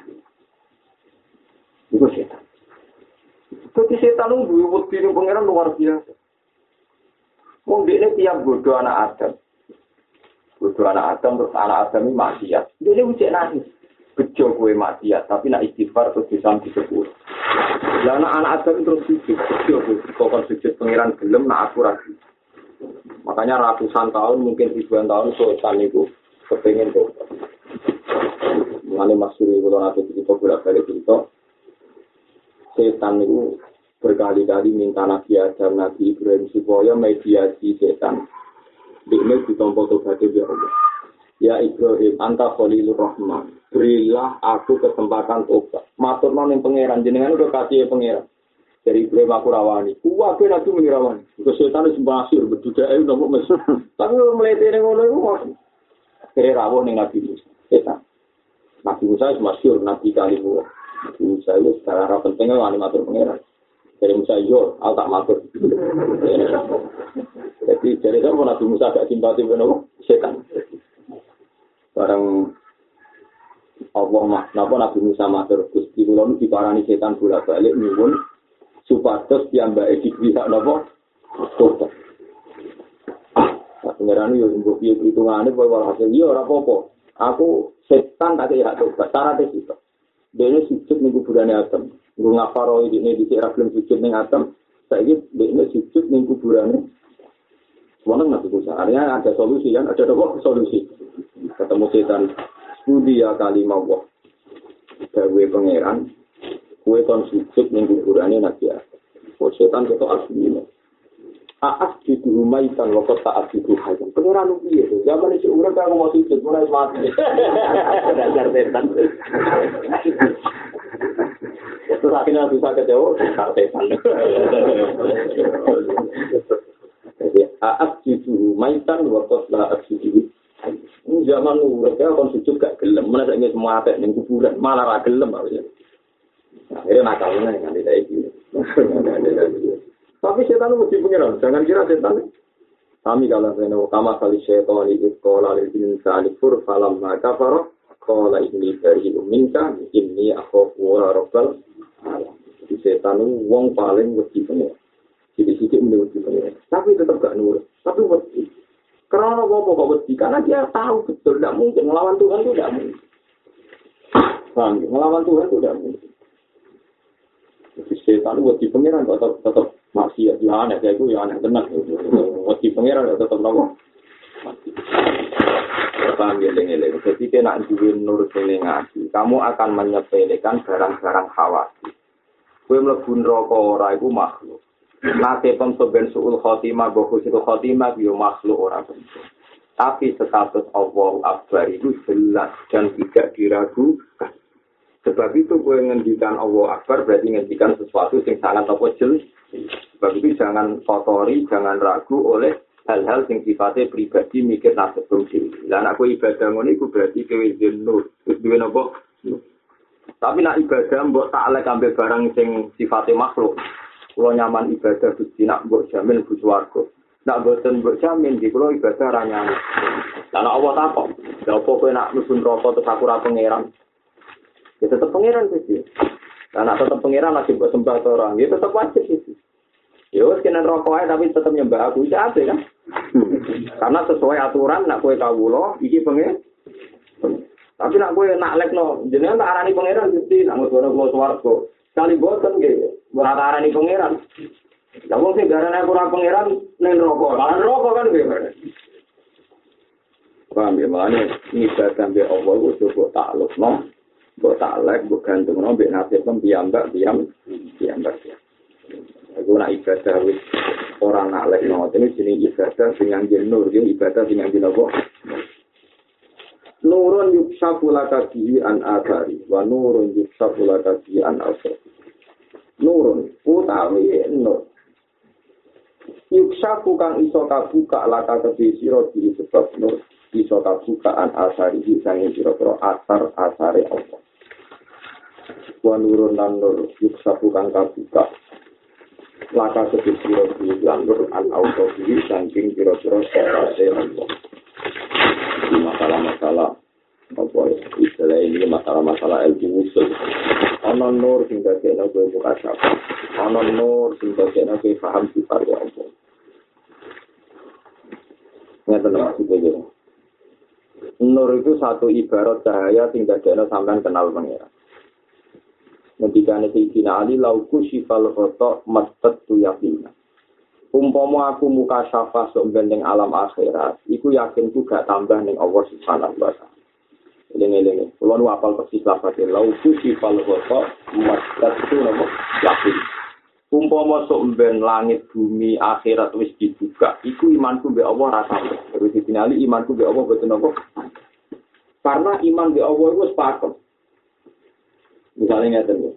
Itu setan. Jadi setan itu wedi ning pangeran luar biasa. Wong dekne tiap bodoh anak Adam. Bodoh anak Adam terus anak Adam ini maksiat. Dia ucap nangis. Bejo kowe maksiat, tapi nak istighfar terus disam disebut. Lah anak Adam terus sujud, bejo kowe kok sujud pangeran gelem nak aku ragu. Makanya ratusan tahun mungkin ribuan tahun setan itu kepengen tuh. Mengenai masyhur kalau nanti kita bolak-balik cerita. Setan itu berkali-kali minta Nabi Adam, Nabi Ibrahim supaya mediasi setan. Ini ditompo tobat ya Allah. Ya Ibrahim, anta khalilur rahman. Berilah aku kesempatan tobat. Matur nang pangeran jenengan udah kasih pangeran. Dari Ibrahim aku rawani. Kuwi aku mengirawani. Terus setan wis masyhur bedudae nopo mes. Tapi mletene ngono iku kok kere rawuh ning Nabi Musa. Setan. Nabi Musa wis masyhur nabi kalimu. Musa itu secara pentingnya wani matur pangeran. Dari Musa yo, aku tak matur. Jadi dari itu Nabi Musa gak simpati dengan setan. Barang Allah mah, napa Nabi Musa matur Gusti kula niki diparani setan bolak-balik nyuwun supados piyambake dipihak napa tobat. Pangeran yo mbok piye hitungane kowe ora hasil yo ora apa-apa. Aku setan tak kira tobat, syarat itu. Dene sujud ning kuburane Adam. Nggo ngaparo iki dhisik ra gelem sujud ning Adam. Saiki dene sujud ning kuburane. Wong nang Nabi Musa. Artinya ada solusi kan? Ada apa solusi? Ketemu setan. Studi ya kalimah Allah. Dawe pangeran. Kue kon sujud ning kuburane Nabi Adam. Oh setan ketok asline. Aas di rumah ikan waktu taat di rumah ikan. Pengiran piye? Zaman itu urip aku mau sujud mulai mati. Dasar setan. Terus akhirnya bisa kecewa, setan. Jadi aas di rumah ikan waktu taat di rumah. Zaman urip aku sujud gak gelem. Mana saya ingin semua atek ning kuburan malah ra gelem harusnya. Akhirnya nakalnya kan tidak iki. Tapi setan mesti pengiran, jangan kira setan. Kami kalau saya kama kali setan itu sekolah di insani fur falam maka faroh sekolah ini dari minta ini aku wara robbal. Di setan wong paling mesti pengiran. Jadi sedikit mesti pengiran. Tapi tetap gak nurut. Tapi mesti. Karena apa kok mesti? Karena dia tahu betul tidak mungkin melawan Tuhan itu tidak mungkin. Paham? Ngelawan Tuhan itu tidak mungkin. Jadi setan buat di pengiran tetap tetap masih ya aneh kayak itu ya aneh tenang. Buat di pengiran tetap nopo. Paham ya lengeleng. Jadi kena duwe nur sing ngaji, kamu akan menyepelekan barang-barang khawatir. Kowe mlebu neraka ora iku makhluk. Nate pemsoben suul khotimah, bohus itu khotimah, yo makhluk ora bentuk. Tapi status Allahu Akbar itu jelas dan tidak diragukan. Sebab itu gue ngendikan Allah Akbar berarti ngendikan sesuatu yang sangat apa jelas. Sebab itu jangan kotori, jangan ragu oleh hal-hal yang sifatnya pribadi mikir nasib sendiri. Dan aku ibadah ngono iku berarti kowe nur. Terus duwe napa? Tapi nak ibadah mbok taklek ambil barang sing sifatnya makhluk. Kalau nyaman ibadah Gusti nak mbok jamin bu swarga. Nak boten mbok jamin di kula ibadah ra nyaman. Lah Allah takok, lha opo kowe nak mlebu neraka terus aku ra pangeran? Ya tetep pangeran sih. Lah nak tetep pangeran lagi mbok sembah to orang, ya tetep wajib sih. Ya wis kena neraka ae tapi tetep nyembah aku iki ape kan? Karena sesuai aturan nak kowe kawula iki pangeran. Tapi nak kowe nak lekno jenengan tak arani pangeran Gusti nak ngono kula swarga. Kali boten nggih, ora tak arani pangeran. Lah wong sing darane aku ora pangeran ning neraka. Lah neraka kan nggih. Paham ya mane ibadah mbek Allah iku coba taklukno, mbok taklek, mbok gantungno mbek nasib piyambak piyam piyambak. Aku nak ibadah wis ora nak lekno, ini jenenge ibadah sing ngangge nur, ibadah sing ngangge apa? Nurun yuksafu laka bihi an athari wa nurun yuksafu laka bihi an asar. Nurun utawi nur. Yuksafu kang iso kabuka laka kedhi sira di sebab nur iso kabuka an asari sange sira-sira asar-asare Allah. Wa nurun lan nur yuksafu kang kabuka laka kedhi sira di nur an autobi saking sira-sira asare Allah. Masalah-masalah apa istilah ini masalah-masalah ilmu usul. Ana nur sing dadekno kowe buka sapa. Ana nur sing dadekno kowe paham sifat Allah. Ngeten maksudnya. Nur itu satu ibarat cahaya sing dadekno sampean kenal pangeran. Ngendikane Sayyidina Ali lauku sifal ghata mattatu yaqina. Umpama aku muka syafa sok ning alam akhirat, iku yakinku gak tambah ning Allah Subhanahu wa taala. Lene-lene, kula nu apal persis lafate lauku sifal ghata mattatu yakin. Umpama sok ben langit bumi akhirat wis dibuka, iku imanku mbek Allah ra tambah. Terus ditinali imanku mbek Allah boten apa. Karena iman mbek Allah iku wis pakem. Misalnya ngeten.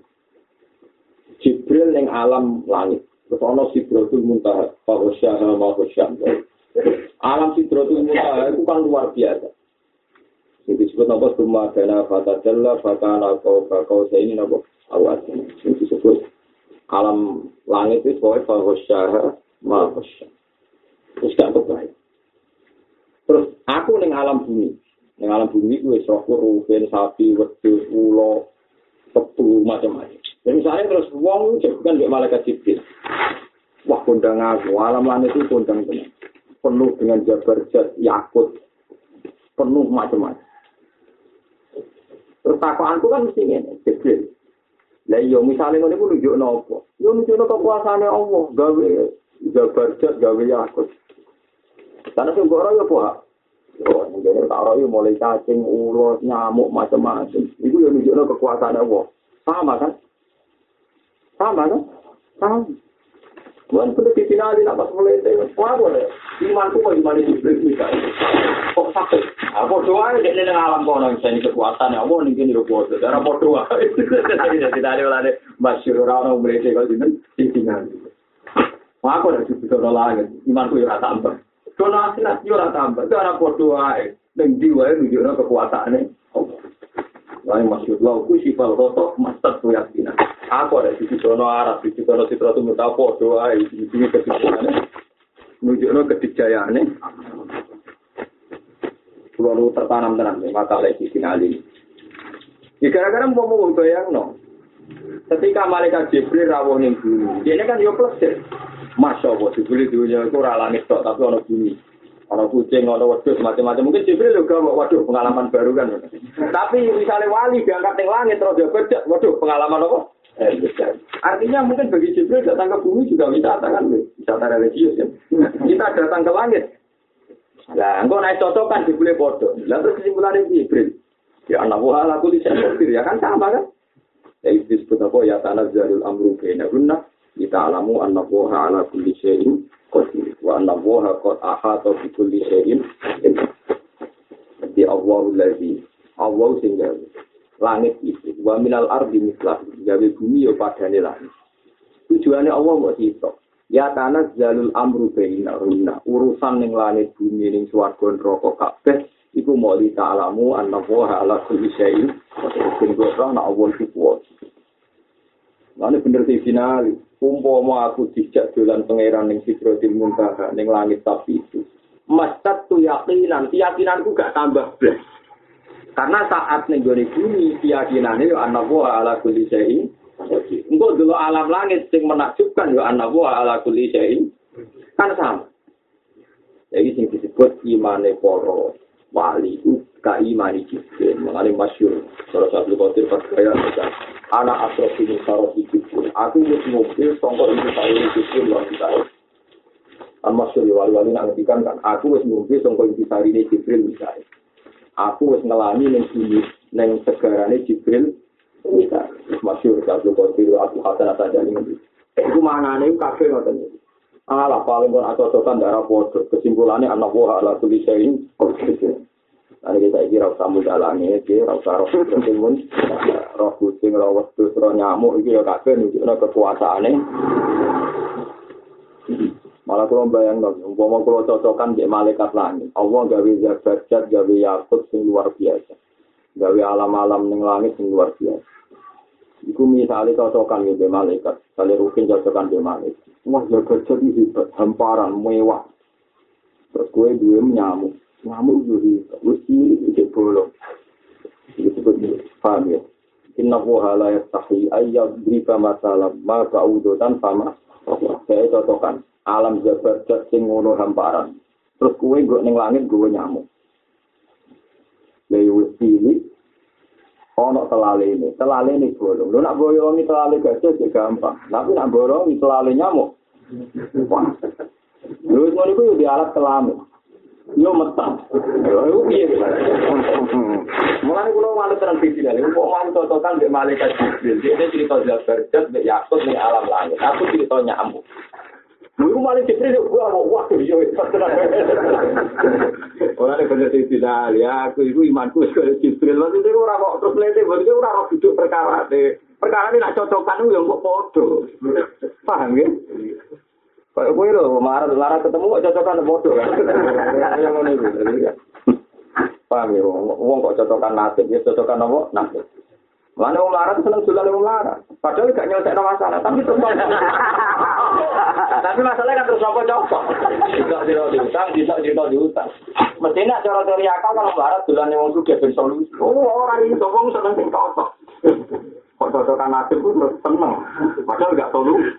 Jibril ning alam langit terus ana Sidratul Muntaha, Fahosyaha Mahosyam. Alam Sidratul Muntaha itu kan luar biasa. Ini disebut apa? Summa dana fatadalla fakana kau saya ini apa? Awal ini disebut alam langit itu sebagai Fahosyaha Mahosyam. Terus gak kebaik. Terus aku ning alam bumi. Ning alam bumi ku wis roh ruhen sapi, wedhus, ula, kebu macam-macam. Dan misalnya terus wong jagoan di malaikat Jibril. Wah kondang aku, alam langit itu kondang benar. Penuh dengan jabar jat, yakut. Penuh macam-macam. Terus takoanku kan mesti ini, Jibril. Lah iya misalnya ngene ku nunjukno apa? Yo nunjukno kekuasaane Allah, gawe jabar jat, gawe yakut. Karena sing ora yo apa? Yo ngene tak ora yo mulai cacing, ulos, nyamuk macam-macam. Iku yo nunjukno kekuasaane Allah. Sama kan? Sama kan? Sama. Tuhan sudah difinali nak pas mulai itu. Wah boleh. Imanku kok iman itu berbeda. Kok sakit? Apa doa ini dengan alam kono misalnya kekuatan ya. Apa nih ini rumput. Darah berdoa. Tidak ada oleh masyur orang mulai itu kalau ini difinali. Wah aku dah cukup doa lagi. Imanku ya tambah. Donasi nasi ya tambah. Darah berdoa. Dan jiwa itu juga kekuatannya. Lain masyur lauku sifal rotok masat yakinan. Aku ada di Sidono Arab, di Sidono Sidratul Muntaha doa di sini kebijakannya, menunjukkan kedijayaannya. Lalu tertanam tenang, masalah di sini ali. Gara-gara mau mau bayang no. Ketika malaikat Jibril rawuh ning bumi, ini kan yo plesir. Masya Allah, Jibril dunia itu ora langit tok, tapi ono bumi. Ana kucing, ana wedhus, macam-macam. Mungkin Jibril juga waduh pengalaman baru kan. Tapi misalnya wali diangkat ning langit terus dia bejat, waduh pengalaman apa? Eh, artinya mungkin bagi Jibril datang ke bumi juga wisata kan, wisata religius ya. Kita datang ke langit. Lah, engko naik cocokan Jibril bodoh. Lah terus kesimpulannya Jibril. Ya anak wah aku disebut ya kan sama kan? Ya itu disebut apa ya tanazzalul amru bainahunna kita alamu anna woha ala kulli syai'in qadir wa anna woha qad ahata bi kulli syai'in. Jadi Allahu allazi Allah sehingga langit itu wa minal ardi mislah gawe bumi yo padane langit. Tujuane Allah kok sitok. Ya tanazzalul amru bainahunna urusan ning langit bumi ning swarga neraka kabeh iku mau li ta'lamu anna woha ala kulli syai'in sing ora ana Allah iku kuat. Lan bener sing final, umpama aku dijak dolan pangeran ning Sidratil Muntaha ning langit tapi itu. Mastat tu yakinan, keyakinanku gak tambah blas. Karena saat ning gone bumi keyakinane yo anna woha ala kulli syai'in. Engko dulu alam langit sing menakjubkan yo anna woha ala kulli syai'in. Kan sama. Jadi sing disebut imane para wali itu kaimani Jibril, mengalami masyur. Salah satu kotir percaya anak asrof ini sarof Jibril. Aku wis mobil songkok itu saya Jibril luar biasa. An masyur wali-wali nak ngetikan kan, aku wis mobil songkok itu saya ini Jibril misalnya. Aku wis ngelani neng sini, neng segarane Jibril misalnya. Masyur satu kotir aku hasan atas jalan ini. Eh itu mana nih kafe ngoten. Alah paling pun acocokan darah bodoh. Kesimpulannya anak buah ala kulli syai'in qadir. Nah kita kira usah mudalane iki, ora usah roh kucing, roh kucing, roh wedhus, roh nyamuk iki ya kabeh nunjukno kekuasaane. Malah kula bayangno, umpama kula cocokan mbek malaikat langit. Allah gawe zat gawe yakut sing luar biasa. Gawe alam-alam ning langit sing luar biasa. Iku misalnya cocokan mbek malaikat, kali rukin cocokan mbek malaikat. Wah, zat iki hebat, hamparan mewah. Terus kowe duwe nyamuk. Nyamuk itu wis iki bolong. Itu betul. Paham ya? Inna huwa la yastahi ayyad drika masalah ma ka'udutan sama. Saya cocokan alam jabat sing ngono hamparan. Terus kowe nggo ning langit nggo nyamuk. Lha wis pilih ono telale ini. Telale ini bolong. Lho nak boyongi telale gajah sih gampang. Tapi nak boyongi telale nyamuk. Wah. Lho ngono iku yo di alat kelamin. Yo metang. Yo piye to? Mulane kula wale terang iki lho, kok man cocokan mbek malaikat Jibril. Dia cerita Jabarjat mbek Yakut ning alam langit. Aku cerita nyamuk. Lha malaikat Jibril kok ora waktu yo tenan. Ora nek bener tidak ya, aku iku imanku wis karo Jibril. Lan iki ora kok terus lete, berarti ora ora duduk perkara ne. Perkara ini nak cocokan yo kok padha. Paham ya? Kayak kowe lho, marah-marah ketemu kok cocokan bodoh kan. Yang ngono iki. Paham ya, wong kok cocokan nasib, ya cocokan apa? Nasib. Mana wong marah seneng dolan wong marah. Padahal gak nyelesaikno masalah, tapi terus. Tapi masalahnya kan terus apa cocok. Tidak tidak diutang, tidak tidak diutang. Mestinya cara teori akal kalau marah dolan wong sugih ben solusi. Oh, ora iso wong seneng sing cocok. Kok cocokan nasib ku seneng. Padahal gak solusi.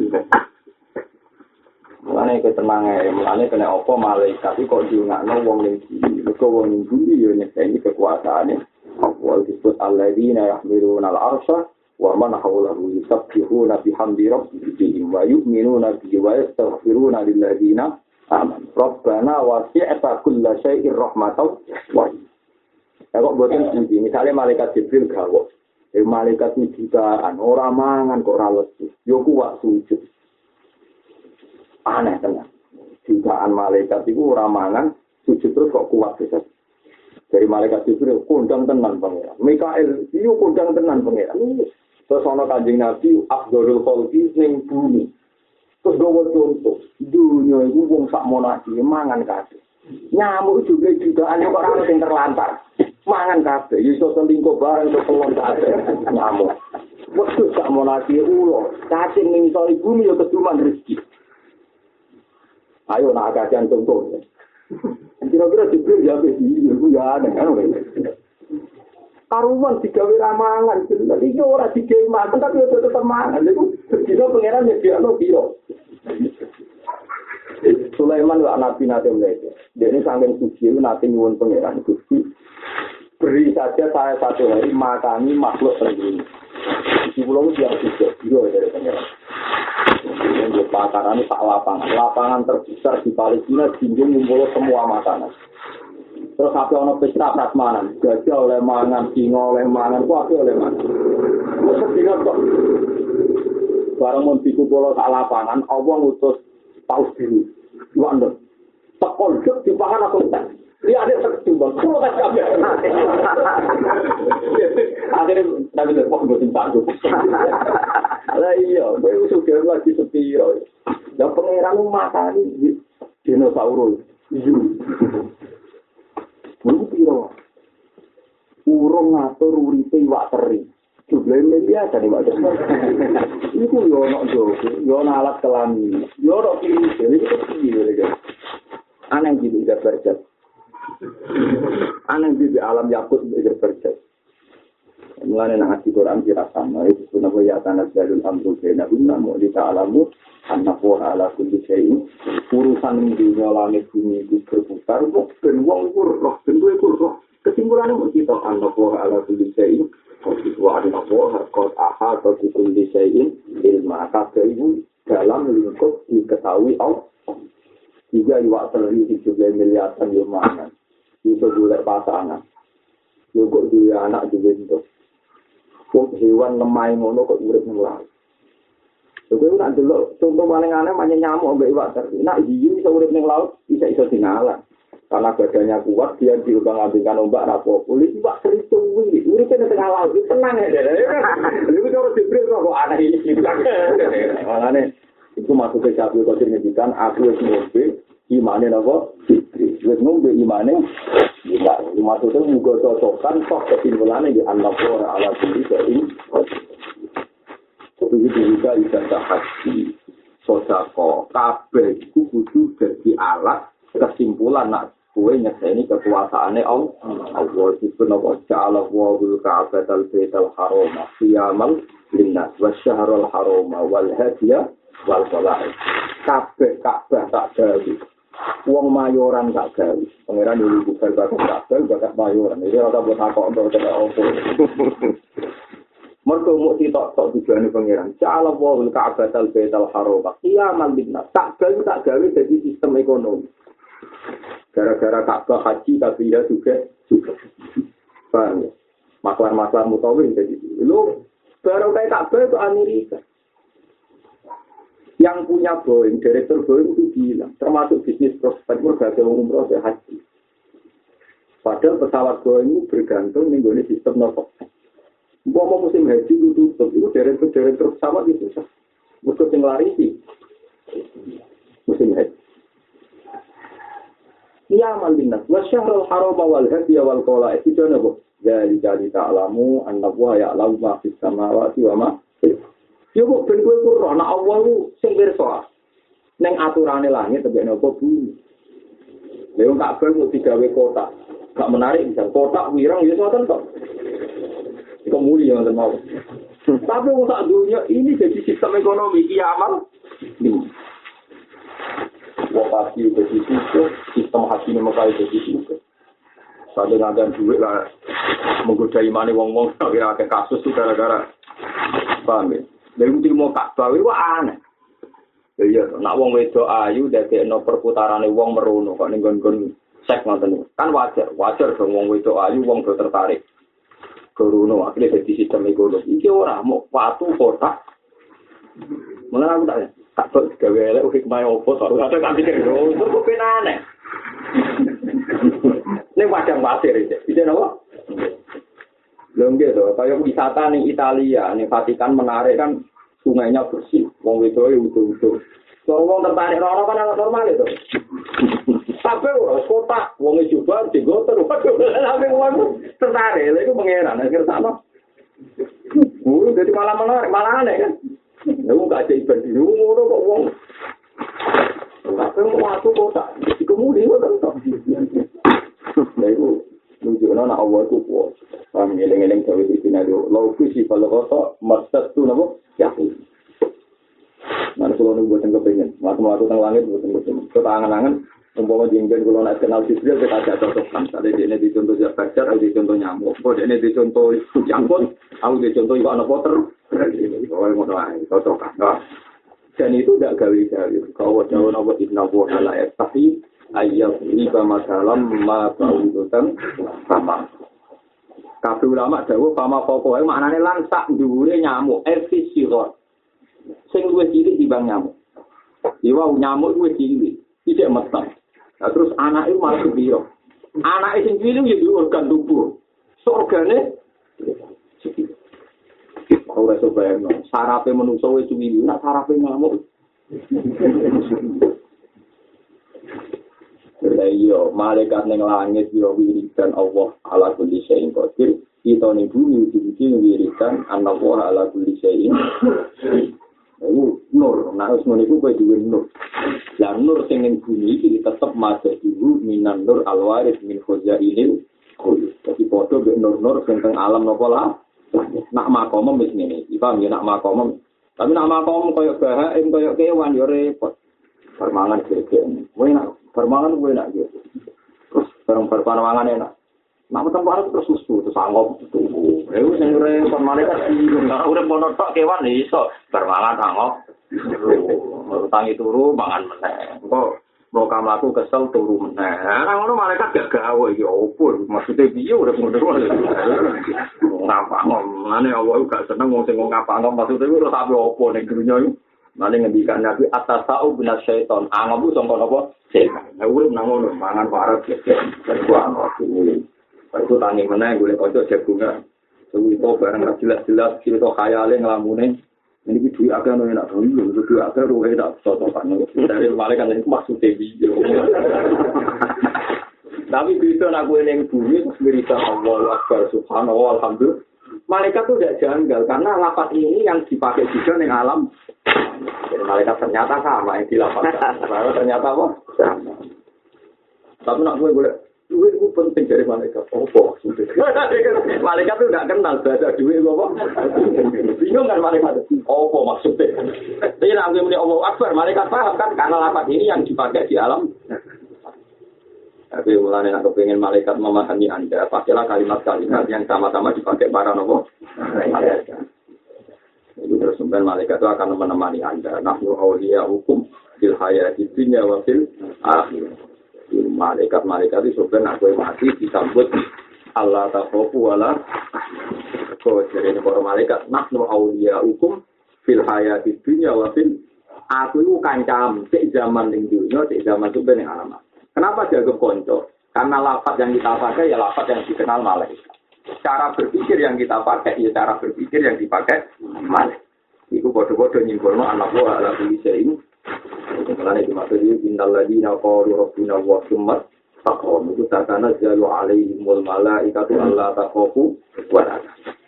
Mulane ketenange, mulane kena apa malaikat iki kok diungakno wong ning iki. Mergo wong ning iki yo nyekeni kekuasaane. Allah disebut alladzina yahmiluna al-arsha wa man hawlahu yusabbihuna bihamdi rabbihim wa yu'minuna bihi wa yastaghfiruna lilladzina amanu. Rabbana wasi'ta kulla syai'in rahmatan wa ya kok boten siji. Misale malaikat Jibril gawok. Eh malaikat iki jutaan ora mangan kok ora lesu. Yo kuwak sujud. Aneh tenan. Jutaan malaikat itu ora mangan, sujud terus kok kuat bisa. Dari malaikat Jibril kondang tenan pangeran. Mikael iyo kondang tenan pangeran. Terus ana Kanjeng Nabi Afdhalul Khalqi ning bumi. Terus gawa contoh, dunia iku wong sak monaki mangan kabeh. Nyamuk juga jutaan kok ora sing terlantar. Mangan kabeh, iso selingkuh bareng iso pelon kabeh. Nyamuk. Wektu sak monaki ulo, cacing ning sore bumi yo keduman rezeki. Ayo nak kajian contoh. Kira-kira Jibril ya begini, itu ya aneh kan. Karuman digawe ramangan, jadi iki ora digawe mangan tapi udah tetep mangan. Iku dino pangeran ya dia no biro. Sulaiman wa nabi nate mlete. Dia ini saking suci itu nanti nyuwun pangeran Gusti. Beri saja saya satu hari makani makhluk terjadi. Di pulau siang juga, juga dari pangeran. Kemudian di pakaran tak lapangan, lapangan terbesar di Palestina jinjung ngumpul semua makanan. Terus apa ono pesta prasmanan, gajah oleh mangan, singa oleh mangan, kuwi oleh mangan. Terus dina kok barang mun dikumpul sak lapangan, Allah ngutus paus biru. Luwandeng. Tekol jek dipangan aku tak. Iya ada seketimbang, kulo tak kabeh. Akhirnya nabi kok mboten sanggup. Lah iya, kowe sudah lagi sepi yo. Ya pangeran makani dinosaurus. Iya. Mun piro? Urung ngatur uripe iwak teri. Jumlahe biasa nih Pak. Iku yo ono jogo, yo ono alat kelamin. Yo ono iki, iki piye lho. Aneh gitu udah berjat. Aneh di alam yakut udah berjat. Mulane nang ati Quran kira sama itu sunah ya tanah jalul amru kena guna mau dita'alamu anna wa ala kulli syai'in urusan dunia langit bumi itu berputar kok ben wong iku roh ben kuwi roh kesimpulane mau kita anna wa ala kulli syai'in wa anna wa qad ahata bi kulli syai'in ilma kabeh iku dalam lingkup diketahui Allah. Tiga iwak teri tujuh belas miliaran yo mangan. Itu golek pasangan. Yo kok duwe anak duwe entuk. Kok hewan lemah ngono kok urip nang laut. Lha kuwi nak delok contoh paling aneh manye nyamuk ambek iwak teri. Nak hiu iso urip nang laut, bisa iso dinalar. Karena badannya kuat, dia diubang-ambingkan ombak rapo. Kulit iwak teri tuwi, urip nang tengah laut, tenang ya. Lha kok dibrik kok aneh iki. Makane itu masuk ke Syafi'i Qadir ngedikan aku wis ngombe imane napa Jibril wis ngombe imane kita maksudnya muga cocokan tok kesimpulane di anak ora ala kulli syai'in begitu juga ibadah haji sodako kabeh iku kudu dadi alat kesimpulan nak kowe nyekseni kekuasaane Allah Allah disebut napa ja'ala wa'ul ka'batal baital haram qiyamal linnas wasyahrul haram wal hadiya wal qala'i kabeh Ka'bah tak gawe wong mayoran tak gawe pangeran dulu bukan bakat Ka'bah bakat mayoran iki ora buat takok untuk kena opo mergo muk ditok-tok tujuane pangeran ja'ala wa'ul ka'batal baital haram qiyamal linnas tak gawe tak gawe dadi sistem ekonomi gara-gara Ka'bah haji tapi ya juga juga paham ya maklar-maklar mutawin jadi lu baru kayak Ka'bah itu Amerika. Yang punya Boeing, direktur Boeing itu bilang, termasuk bisnis prospek berbagai umroh dan haji. Padahal pesawat Boeing itu bergantung dengan sistem nopo. Mau musim haji itu tutup, itu direktur-direktur pesawat itu susah. Mesti yang lari sih. Musim haji. Ya malinas, wasyahrul haram wal hadiya wal qala itu nopo. Dari jadi ta'lamu annahu ya'lamu ma fis samawati wa ma yo kok ben kowe ora ana Allah ku sing pirsa. Ning aturane langit tebek napa bumi. Lha wong kabeh kok digawe kotak. Gak menarik bisa kotak wirang ya ngoten kok. Iku muli ya ngoten mau. Tapi wong sak dunia ini jadi sistem ekonomi kiamat. Wong pasti jadi itu sistem haji Mekah jadi itu. Sadhe ngadan duit lah menggoda imane wong-wong kira akeh kasus itu gara-gara paham ya. Dari ilmu Ka'bah itu aneh. Iya, nak wong wedok ayu dadekno perputarane wong merono kok ning nggon sek ngoten. Kan wajar, wajar dong wong wedok ayu wong do tertarik. Kerono akhirnya dadi sistem ekonomi. Iki ora mau patu kotak. Mulane aku tak tak kok gawe elek hikmah opo to. Ora tak pikir lho, itu kok ben aneh. Ning padang pasir iki. Bisa napa? Belum gitu, kayak wisata nih Italia, nih Vatikan menarik kan sungainya bersih, wong itu ya utuh-utuh. Kalau wong tertarik orang kan anak normal itu. Tapi orang kota, wong itu juga digotor, waduh, tapi wong tertarik, itu pengeran, akhirnya sama. Uh, jadi malah menarik, malah aneh kan. Ya wong gak ada ibadah di rumah, kok wong. Tapi wong waktu kota, kemudian wong tentu. Nah itu. Nunjukna nak Allah itu kuat. Paham ngeleng-eleng gawe sinario. Lau kusi kalau kotor maksud tu nabo yakin. Nah kalau nunggu buatan kepengen, waktu waktu teng langit buatan kepengen. Kita angan-angan Umpama jengben kalau nak kenal Jibril kita ada cocokkan. Tadi dia ini dicontoh Jabajar, aku dicontoh nyamuk. Kok dia ini dicontoh jangkut, aku dicontoh ikan poter. Oh, ngono ae, cocokkan. Dan itu tidak gawe-gawe. Kalau jauh nama Inna Wuha Layat. Tapi ayat ini sama dalam ma baudutan sama. Kabeh ulama dawuh pama pokoke maknane langsak dhuwure nyamuk, efisirot. Sing luwih cilik dibanding nyamuk. Iwa nyamuk luwih cilik, tidak meteng. Nah, terus anak itu malah kebiro. Anak itu sendiri ya di organ tubuh. So organnya, kalau saya bayang, sarapnya manusia itu ini, nak sarapnya ngamuk. Iya, malaikat neng langit yo wiridan Allah ala kulli syai'in qadir. Kita ning bumi iki wiridan Allah ala kulli syai'in. Itu nur, nah wis ngono iku kowe duwe nur. Lah nur sing ning bumi iki tetep masih dulu minan nur alwaris min khazainil qul. Tapi padha mek nur-nur sing teng alam napa lah. Nak makom wis ngene iki, paham ya nak makom. Tapi nak makom koyo bahaim koyo kewan yo repot. Permangan gegek. Kowe nak permangan kowe nak gitu. Terus barang permangan enak. Nak tempat terus susu terus anggap tunggu. Eh wis sing repot malaikat iki ora urip ono tok kewan iso permangan anggap. Tangi turu mangan meneh. Engko mau kamlaku kesel turu meneh. Nah ngono malaikat gak gawe ya opo maksude piye urip ngono. Ngapa ngomane Allah gak seneng wong sing ngapa ngomong maksude ora sampe opo ning dunya iki. Mane ngendikan Nabi atasau binas syaiton. Angabu sangka napa? Setan. Lah urip nang ngono mangan parek gegek. Terus aku Aku tangi meneh golek kanca jagungan. Suwi to barang jelas-jelas cerita khayale nglamune. Ini iki duwe akeh ono enak dulu, duwe akeh roe tak cocokan. Dari malaikat itu maksudnya video. Tapi bisa aku ning bumi terus berita Allahu Akbar subhanallah alhamdulillah. Malaikat itu tidak janggal karena lafaz ini yang dipakai juga ning alam. Jadi malaikat ternyata sama yang dilafazkan. Ternyata apa? Sama. Tapi nak gue boleh duit itu penting dari malaikat. Apa maksudnya? Malaikat itu tidak kenal bahasa duit itu apa? Bingung kan malaikat? Apa maksudnya? Jadi nak gue muni Allahu Akbar, malaikat paham kan? Karena lafaz ini yang dipakai di alam. Tapi mulanya nak kepengen malaikat memahami Anda, pakailah kalimat-kalimat yang sama-sama dipakai para nopo malaikat. Itu terus kemudian malaikat itu akan menemani Anda. Nahnu awliya hukum fil hayati dunya wa fil akhirah. Malaikat-malaikat itu sebenarnya aku mati disambut Allah takhofu wala kau jadi para malaikat nahnu awliya hukum fil hayati dunya wa fil aku itu kancam cek zaman ning dunya cek zaman itu ning alamat. Kenapa jaga konco? Karena lafaz yang kita pakai ya lafaz yang dikenal malaikat. Cara berpikir yang kita pakai ya cara berpikir yang dipakai malaikat. Iku bodoh-bodoh nyimbolno anak buah ala kulisa ini. Karena itu maksudnya innal ladina qalu rabbuna wa summa taqom itu takana jalu alaihimul malaikatu alla takhafu wa la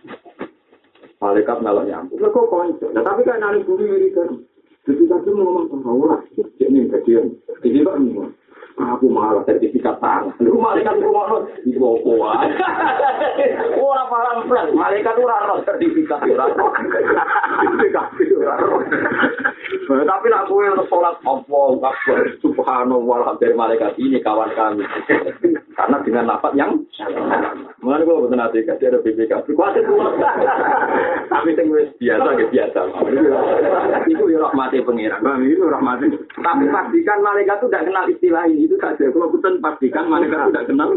malaikat melok nyambut. Lha kok konco? Nah, tapi kan nang bumi iki kan. Jadi kan ngomong sama orang, ini kejadian. Jadi kok ngomong aku malah sertifikat tanah. Lu malaikat itu ngono di opo wae. Ora paham plan, malaikat ora ono sertifikat ora. Sertifikat ora. Tapi nak kowe salat Allahu Akbar subhanallah dari malaikat ini kawan kami. Karena dengan lafaz yang mulane kok boten ate kasih ada B P K. Kuwi tapi sing wis biasa ge biasa. Iku ya rahmate pangeran. Itu rahmate. Tapi pastikan malaikat itu tidak kenal istilah ini. Itu saja. Kalau bukan pastikan malaikat tidak kenal.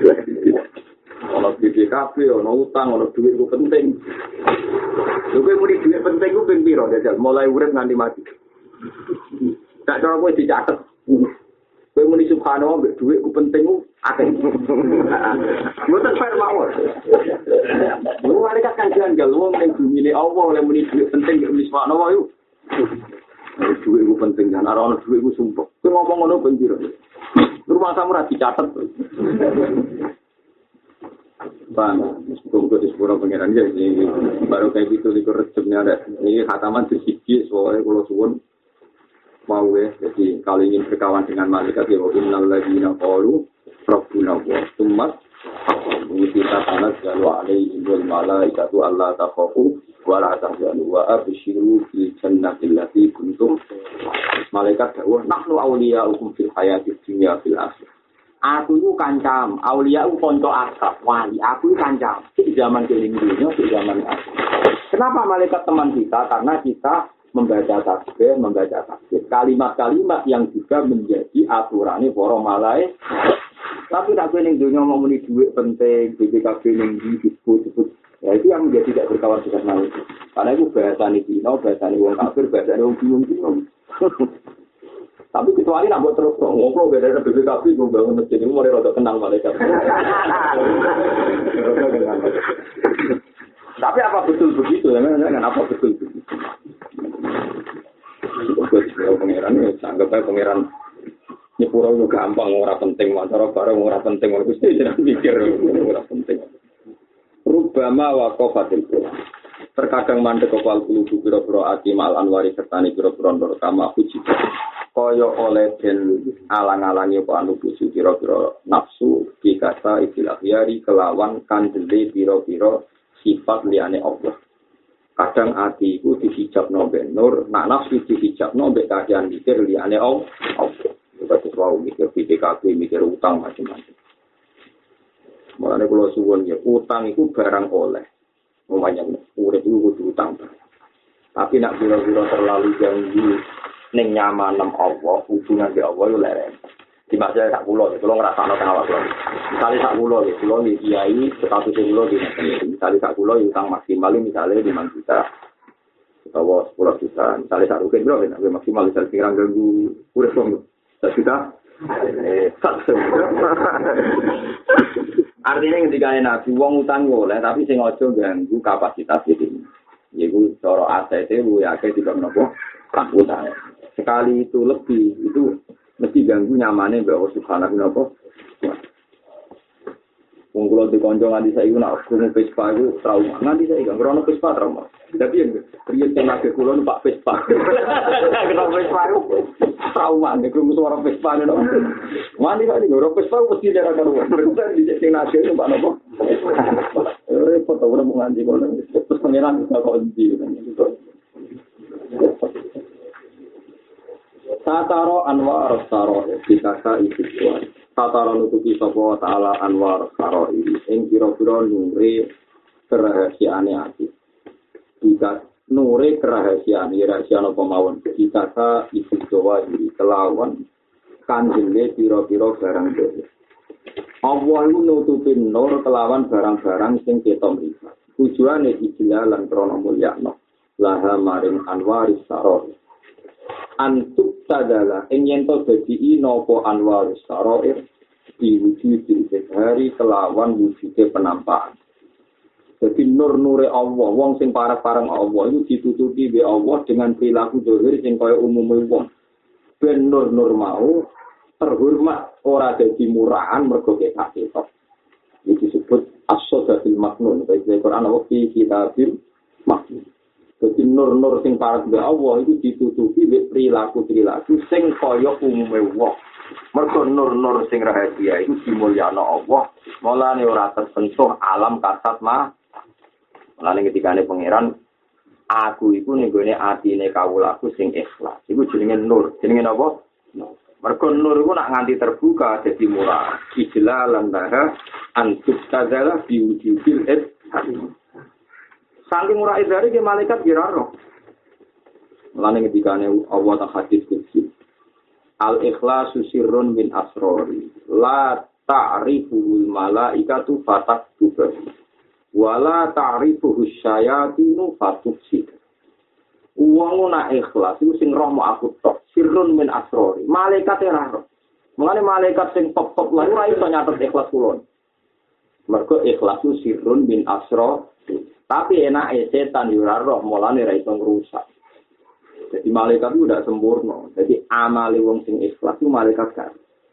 Kalau B P K P, ono utang, ono duit itu penting. Lha kowe muni duit penting ku ping pira jajal mulai urip nganti mati. Tak cara kowe dicatet. Kowe muni subhanallah mbek duit ku penting ku akeh. Mboten fair mawon. Lu malaikat kan janggal wong ning bumi Allah oleh muni duit penting mbek subhanallah yo. Duit ku penting kan ora ono duit ku sumpah. Kowe ngomong ngono ping pira? Rumah samu ra dicatet. Bang, semoga di sepuluh pengiran ya, ini baru kayak gitu di kerjanya ada. Ini khataman sedikit soalnya kalau suwun mau ya, jadi kalau ingin berkawan dengan malaikat ya, innal ladzina qalu rabbuna wa tsumma kita tanazzalu alaihim wal malaikatu alla takhafu wa la tahzanu wa abshiru bil jannati allati kuntum. Malaikat dawuh nahnu awliya'ukum fil hayatid dunya fil akhirah. Aku itu kancam, aulia itu konco akrab, wali. Aku itu kancam, di zaman keling dunia, di zaman aku. Kenapa malaikat teman kita? Karena kita membaca tasbih, membaca tasbih. Kalimat-kalimat yang juga menjadi aturannya para malaikat. Tapi tak keling dunia ngomongin duit penting, B P K B yang disebut-sebut. Ya itu yang menjadi tidak berkawan dengan malaikat. Karena itu bahasa ini Cina, bahasa ini wong kafir, bahasa ini wong bingung-bingung. Tapi kecuali nak buat terus ngobrol beda dari B P K B, gue bangun masjid ini mulai rada kenal malaikat. Tapi apa betul begitu? Ya, apa betul begitu? Pangeran, anggap aja pangeran nyepuro itu gampang, orang penting, masalah barang orang penting, orang pasti jangan mikir orang penting. Rubama wakofatil Quran. Terkadang mandek kepal kulubu biro-biro ati mal anwari sertani biro-biro norkama puji. Koyo oleh den alang-alangi apa anu puji biro-biro nafsu dikata istilah yari kelawan kandele biro-biro sifat liyane Allah. Kadang ati iku dihijab nombe nur, nak nafsu dihijab nombe kajian mikir liyane Allah. Kita selalu mikir P T K B, mikir utang macam-macam. Mulane kula suwun ya, utang itu barang oleh. Umumnya urip itu kudu utang. Tapi nak biro-biro terlalu ganggu ning nyaman Allah, hubungan be Allah yo lereng. Di masa sak kula, kula ngrasakno teng awak kula. Misale sak kula, kula iki kiai status kula di misale sak kula utang maksimal misale lima juta. Utawa sepuluh juta. Misale sak rugen bro, nek maksimal misale sing ganggu urip wong sak juta. Eh, sak artinya ketika nabi wong utang boleh tapi sing aja ganggu kapasitas iki. Yaiku cara aset e lu ya ke tidak nopo tak utang. Sekali itu lebih itu mesti ganggu nyamane mbak Allah Subhanahu wa taala. Wong kula dikonco nganti saiki nak krungu Vespa iku trauma. Nganti saiki kan krono Vespa trauma. Tapi yang riyen teng age kula numpak Vespa. Kenapa Vespa iku trauma nek krungu suara Vespa nek. Mandi kali ngoro Vespa mesti darah karuan. Berarti di teng age numpak nopo? Eh foto ora mung nganti kono. Terus pangeran bisa kunci kan gitu. Tataro anwar saro dikasa itu kuat. Tataro nutupi sapa taala anwar saro ini. Ing kira-kira nure kerahasiaane ati. Jika nure kerahasiaane rahasia apa mawon dikasa itu jawa iki kelawan kanjenge pira-pira barang dhewe. Allah iku nutupi nur kelawan barang-barang sing ketok mripat. Tujuane ijlalan krana mulyakno. Laha maring anwaris saro. Antuk tadala ingin to dadi napa anwar sarair diwujudi hari kelawan wujude penampakan. Jadi nur-nure Allah, wong sing parek-pareng Allah itu ditutupi be Allah dengan perilaku zahir sing kaya umume wong. Ben nur-nur mau terhormat ora dadi murahan mergo ketok. Iki disebut as-sadatul maknun. Baik Quran Allah fi kitabil maknun. Jadi nur-nur sing parek be Allah itu ditutupi be perilaku-perilaku sing kaya umume wong. Mergo nur-nur sing rahasia itu dimulyakno Allah, mulane ora tersentuh alam kasat mah. Mulane ketikane pangeran, aku iku ning gone atine kawulaku sing ikhlas. Iku jenenge nur. Jenenge apa? Mergo nur iku nak nganti terbuka dadi murah. Ijlalan laha antuk tadzala biwujudil adzhar. Saking murah izare ke malaikat kiraro. Mulane ketikane Allah ta hadis kutsi. Al-ikhlasu sirrun min asrori. La ta'rifuhul malaikatu fataktuba. Wa la ta'rifuhus syayatinu fatuksib. Wong nak ikhlas iku sing roh mau aku tok. Sirrun min asrori. Malaikat ora roh. Mulane malaikat sing top-top lha ora iso nyatet ikhlas kula. Mergo ikhlas itu sirrun min asrori. Tapi enake setan yo ora roh, mulane ra iso ngrusak. Jadi malaikat itu tidak sempurna. Jadi amali wong sing ikhlas itu malaikat kan.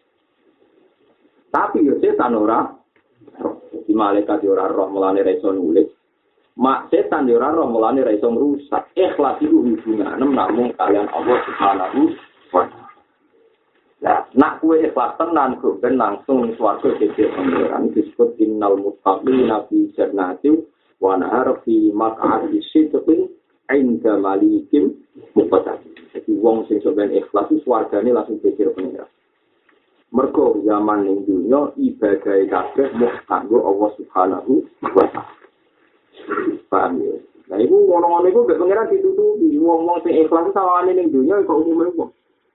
Tapi yo setan ora roh. Jadi malaikat yo ora roh mulane ra iso nulis. Mak setan yo ora roh mulane ra iso ngrusak. Ikhlas itu hubungan namung kalian Allah Subhanahu wa taala. Nah, Nak kue ikhlas tenan kok ben langsung ning swarga dhewe pangeran disebut innal muttaqina fi jannatin wa nahar fi maq'adi sidqin 'inda malikin muqtadir. Jadi wong sing sampeyan ikhlas itu swargane langsung dhewe pangeran. Mergo zaman ning dunya ibadah kabeh mung kanggo Allah Subhanahu wa taala. Paham ya? Nah iku ngono-ngono iku gak pangeran ditutupi. Wong-wong sing ikhlas sawane ning dunya kok umume wong.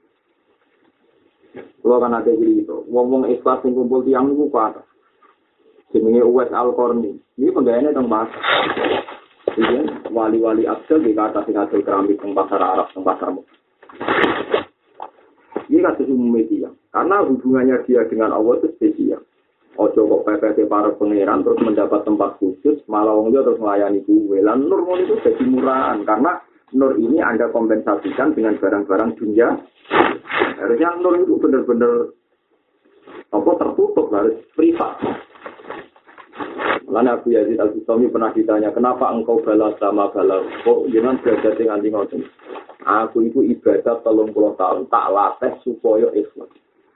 Kalau kan ada gitu, ngomong ikhlas yang kumpul tiang itu kuat. Jenenge Uwais Al-Qarni. Ini penggayaannya tentang bahasa. Jadi wali-wali abdal di kata sing hasil keramik tentang pasar Arab, tentang pasar Mekah. Ini kasus umum media. Karena hubungannya dia dengan Allah itu spesial. Ojo kok P P T para pangeran terus mendapat tempat khusus, malah wong dia terus melayani gue. Lan nur itu jadi murahan karena nur ini Anda kompensasikan dengan barang-barang dunia. Harusnya nur itu benar-benar apa tertutup, harus privat. Lalu Abu Yazid Al-Bustami pernah ditanya, kenapa engkau balas sama balas? Kok jangan belajar dengan tinggal aku itu ibadah telung puluh tahun tak latih supaya ikhlas.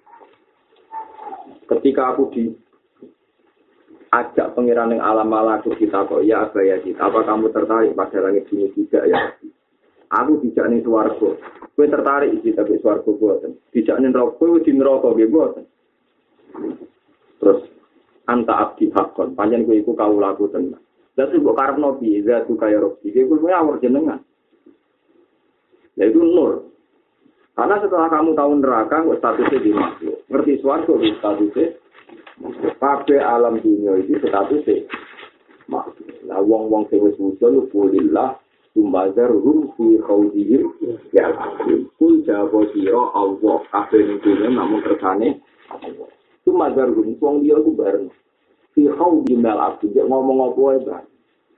Ketika aku diajak pengiran yang alam malaku kita kok ya Abu Yazid, apa kamu tertarik pada langit ini juga ya? Aku dijak ning swarga. Kowe tertarik iki tapi swarga boten. Dijak ning neraka kowe di neraka nggih boten. Terus anta abdi hakon, panjen kowe iku kawulaku tenan. Lah mbok karepno piye zatu kaya rob iki kowe awur jenengan. Lah itu nur. Karena setelah kamu tahu neraka kok statusnya di makhluk. Ngerti swarga di statusnya kabeh alam dunia iki statusnya makhluk. Lah wong-wong sing wis wusul kulillah Tumbazarhum fi khawdihim ya al-akhir. Kul jawab siro Allah. Kabeh ning dunya namun kersane Allah. Tumbazarhum wong dia ku bareng. Fi khawdihim al-akhir. Dia ngomong apa wae bareng.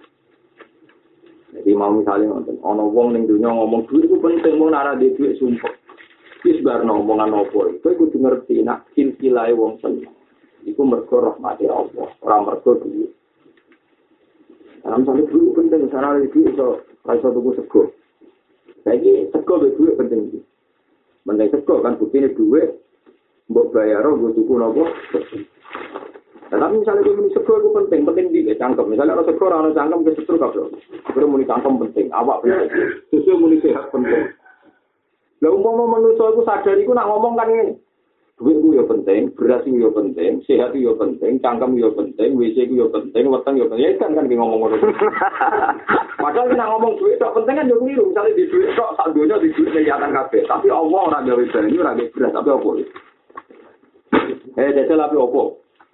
Jadi mau misalnya nonton, ana wong ning dunya ngomong duit itu penting, mau nara di duit sumpah. Wis bar ngomongan apa iku kudu ngerti nak silsilahe wong seneng. Iku mergo rahmate Allah, ora mergo duit. Dalam satu dulu penting, sana lagi iso iso tuku sego. Saiki sego be duit penting. Mending sego kan buktine duit mbok bayar mbok tuku napa. Tapi misalnya kowe muni sego itu penting, penting di cangkem. Misalnya ora sego ora ono cangkem ke setru kabeh. Kowe muni cangkem penting, awak penting. Susu muni sehat penting. Lah umpama manusa iku sadar iku nak ngomong kan ngene. Duit ku yo penting, beras ku yo penting, sehat ku yo penting, cangkem yo penting, W C ku yo penting, weteng yo penting. Ya kan kan ngomong ngono. Padahal nek ngomong duit tok penting kan yo keliru. Misale di duit tok sak donya di duit kelihatan kabeh. Tapi Allah ora gawe banyu, ora gawe beras, tapi opo? Eh, jajal api opo?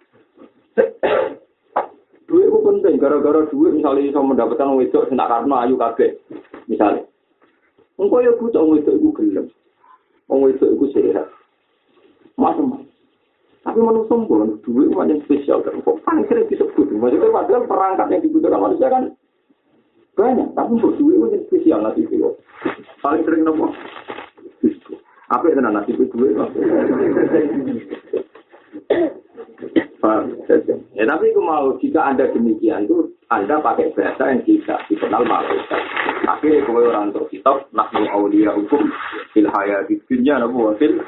Duit ku penting, gara-gara duit misalnya iso mendapatkan wedok sing tak karepno ayu kabeh. Misale. Engko yo butuh wedok iku gelem. Wong wedok iku sehat. Macam-macam. Tapi manusia pun duit macam spesial kan. Kok paling sering disebut. Maksudnya padahal perangkat yang dibutuhkan manusia kan banyak. Tapi untuk duit macam spesial nanti itu. Paling sering apa? Apa itu nanti itu duit? Ya tapi aku mau jika Anda demikian itu Anda pakai bahasa yang tidak dikenal malaikat. Akhirnya kalau orang untuk kitab nahnu auliya hukum fil hayati dunya nabu fil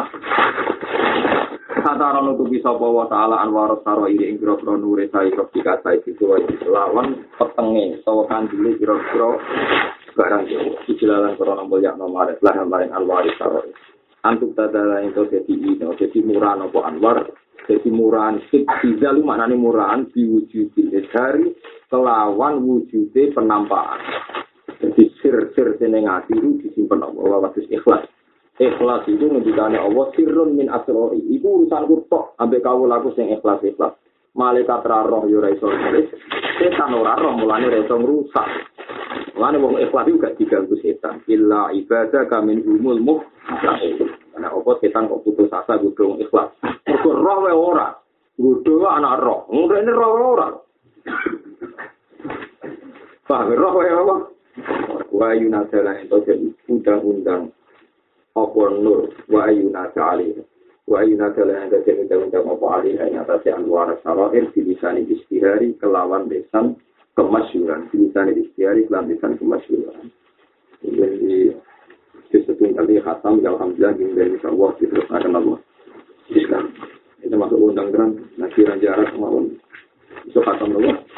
kata orang untuk bisa bawa taala anwar saro ini ingkro pro nure sai propika sai itu lawan petenge sawakan dulu kira-kira barang itu jelalan corona banyak nomor lah lain anwar saro antuk tadala itu jadi ini jadi murah nopo anwar jadi murahan siksa lu maknane murahan diwujudi dari kelawan wujude penampakan. Jadi sir-sir seneng ati itu disimpen Allah wasis ikhlas. Ikhlas itu ngendikane Allah sirrun min asrori. Iku urusanku tok ambek kawulaku sing ikhlas-ikhlas. Malaikat ra roh yo ora iso nulis. Setan ora roh mulane ora iso ngrusak. Mulane wong ikhlas itu gak diganggu setan. Illa ibadah kamin umul mukhlas. Karena apa setan kok putus asa gudung ikhlas. Mergo roh wae ora. Gudung anak roh. Ngene roh ora. Paham roh wae apa? Wa yunazala itu jadi undang-undang apa nur wa yunazala alih. Wa yunazala itu jadi undang-undang apa alih yang atas anwar sarair bilisan istihari kelawan lisan kemasyhuran. Bilisan istihari kelawan lisan kemasyhuran. Jadi disebut kali khatam alhamdulillah dari Allah diteruskan Allah. Islam. Itu masuk undang terang, nabi jarak mau. Itu kata Allah.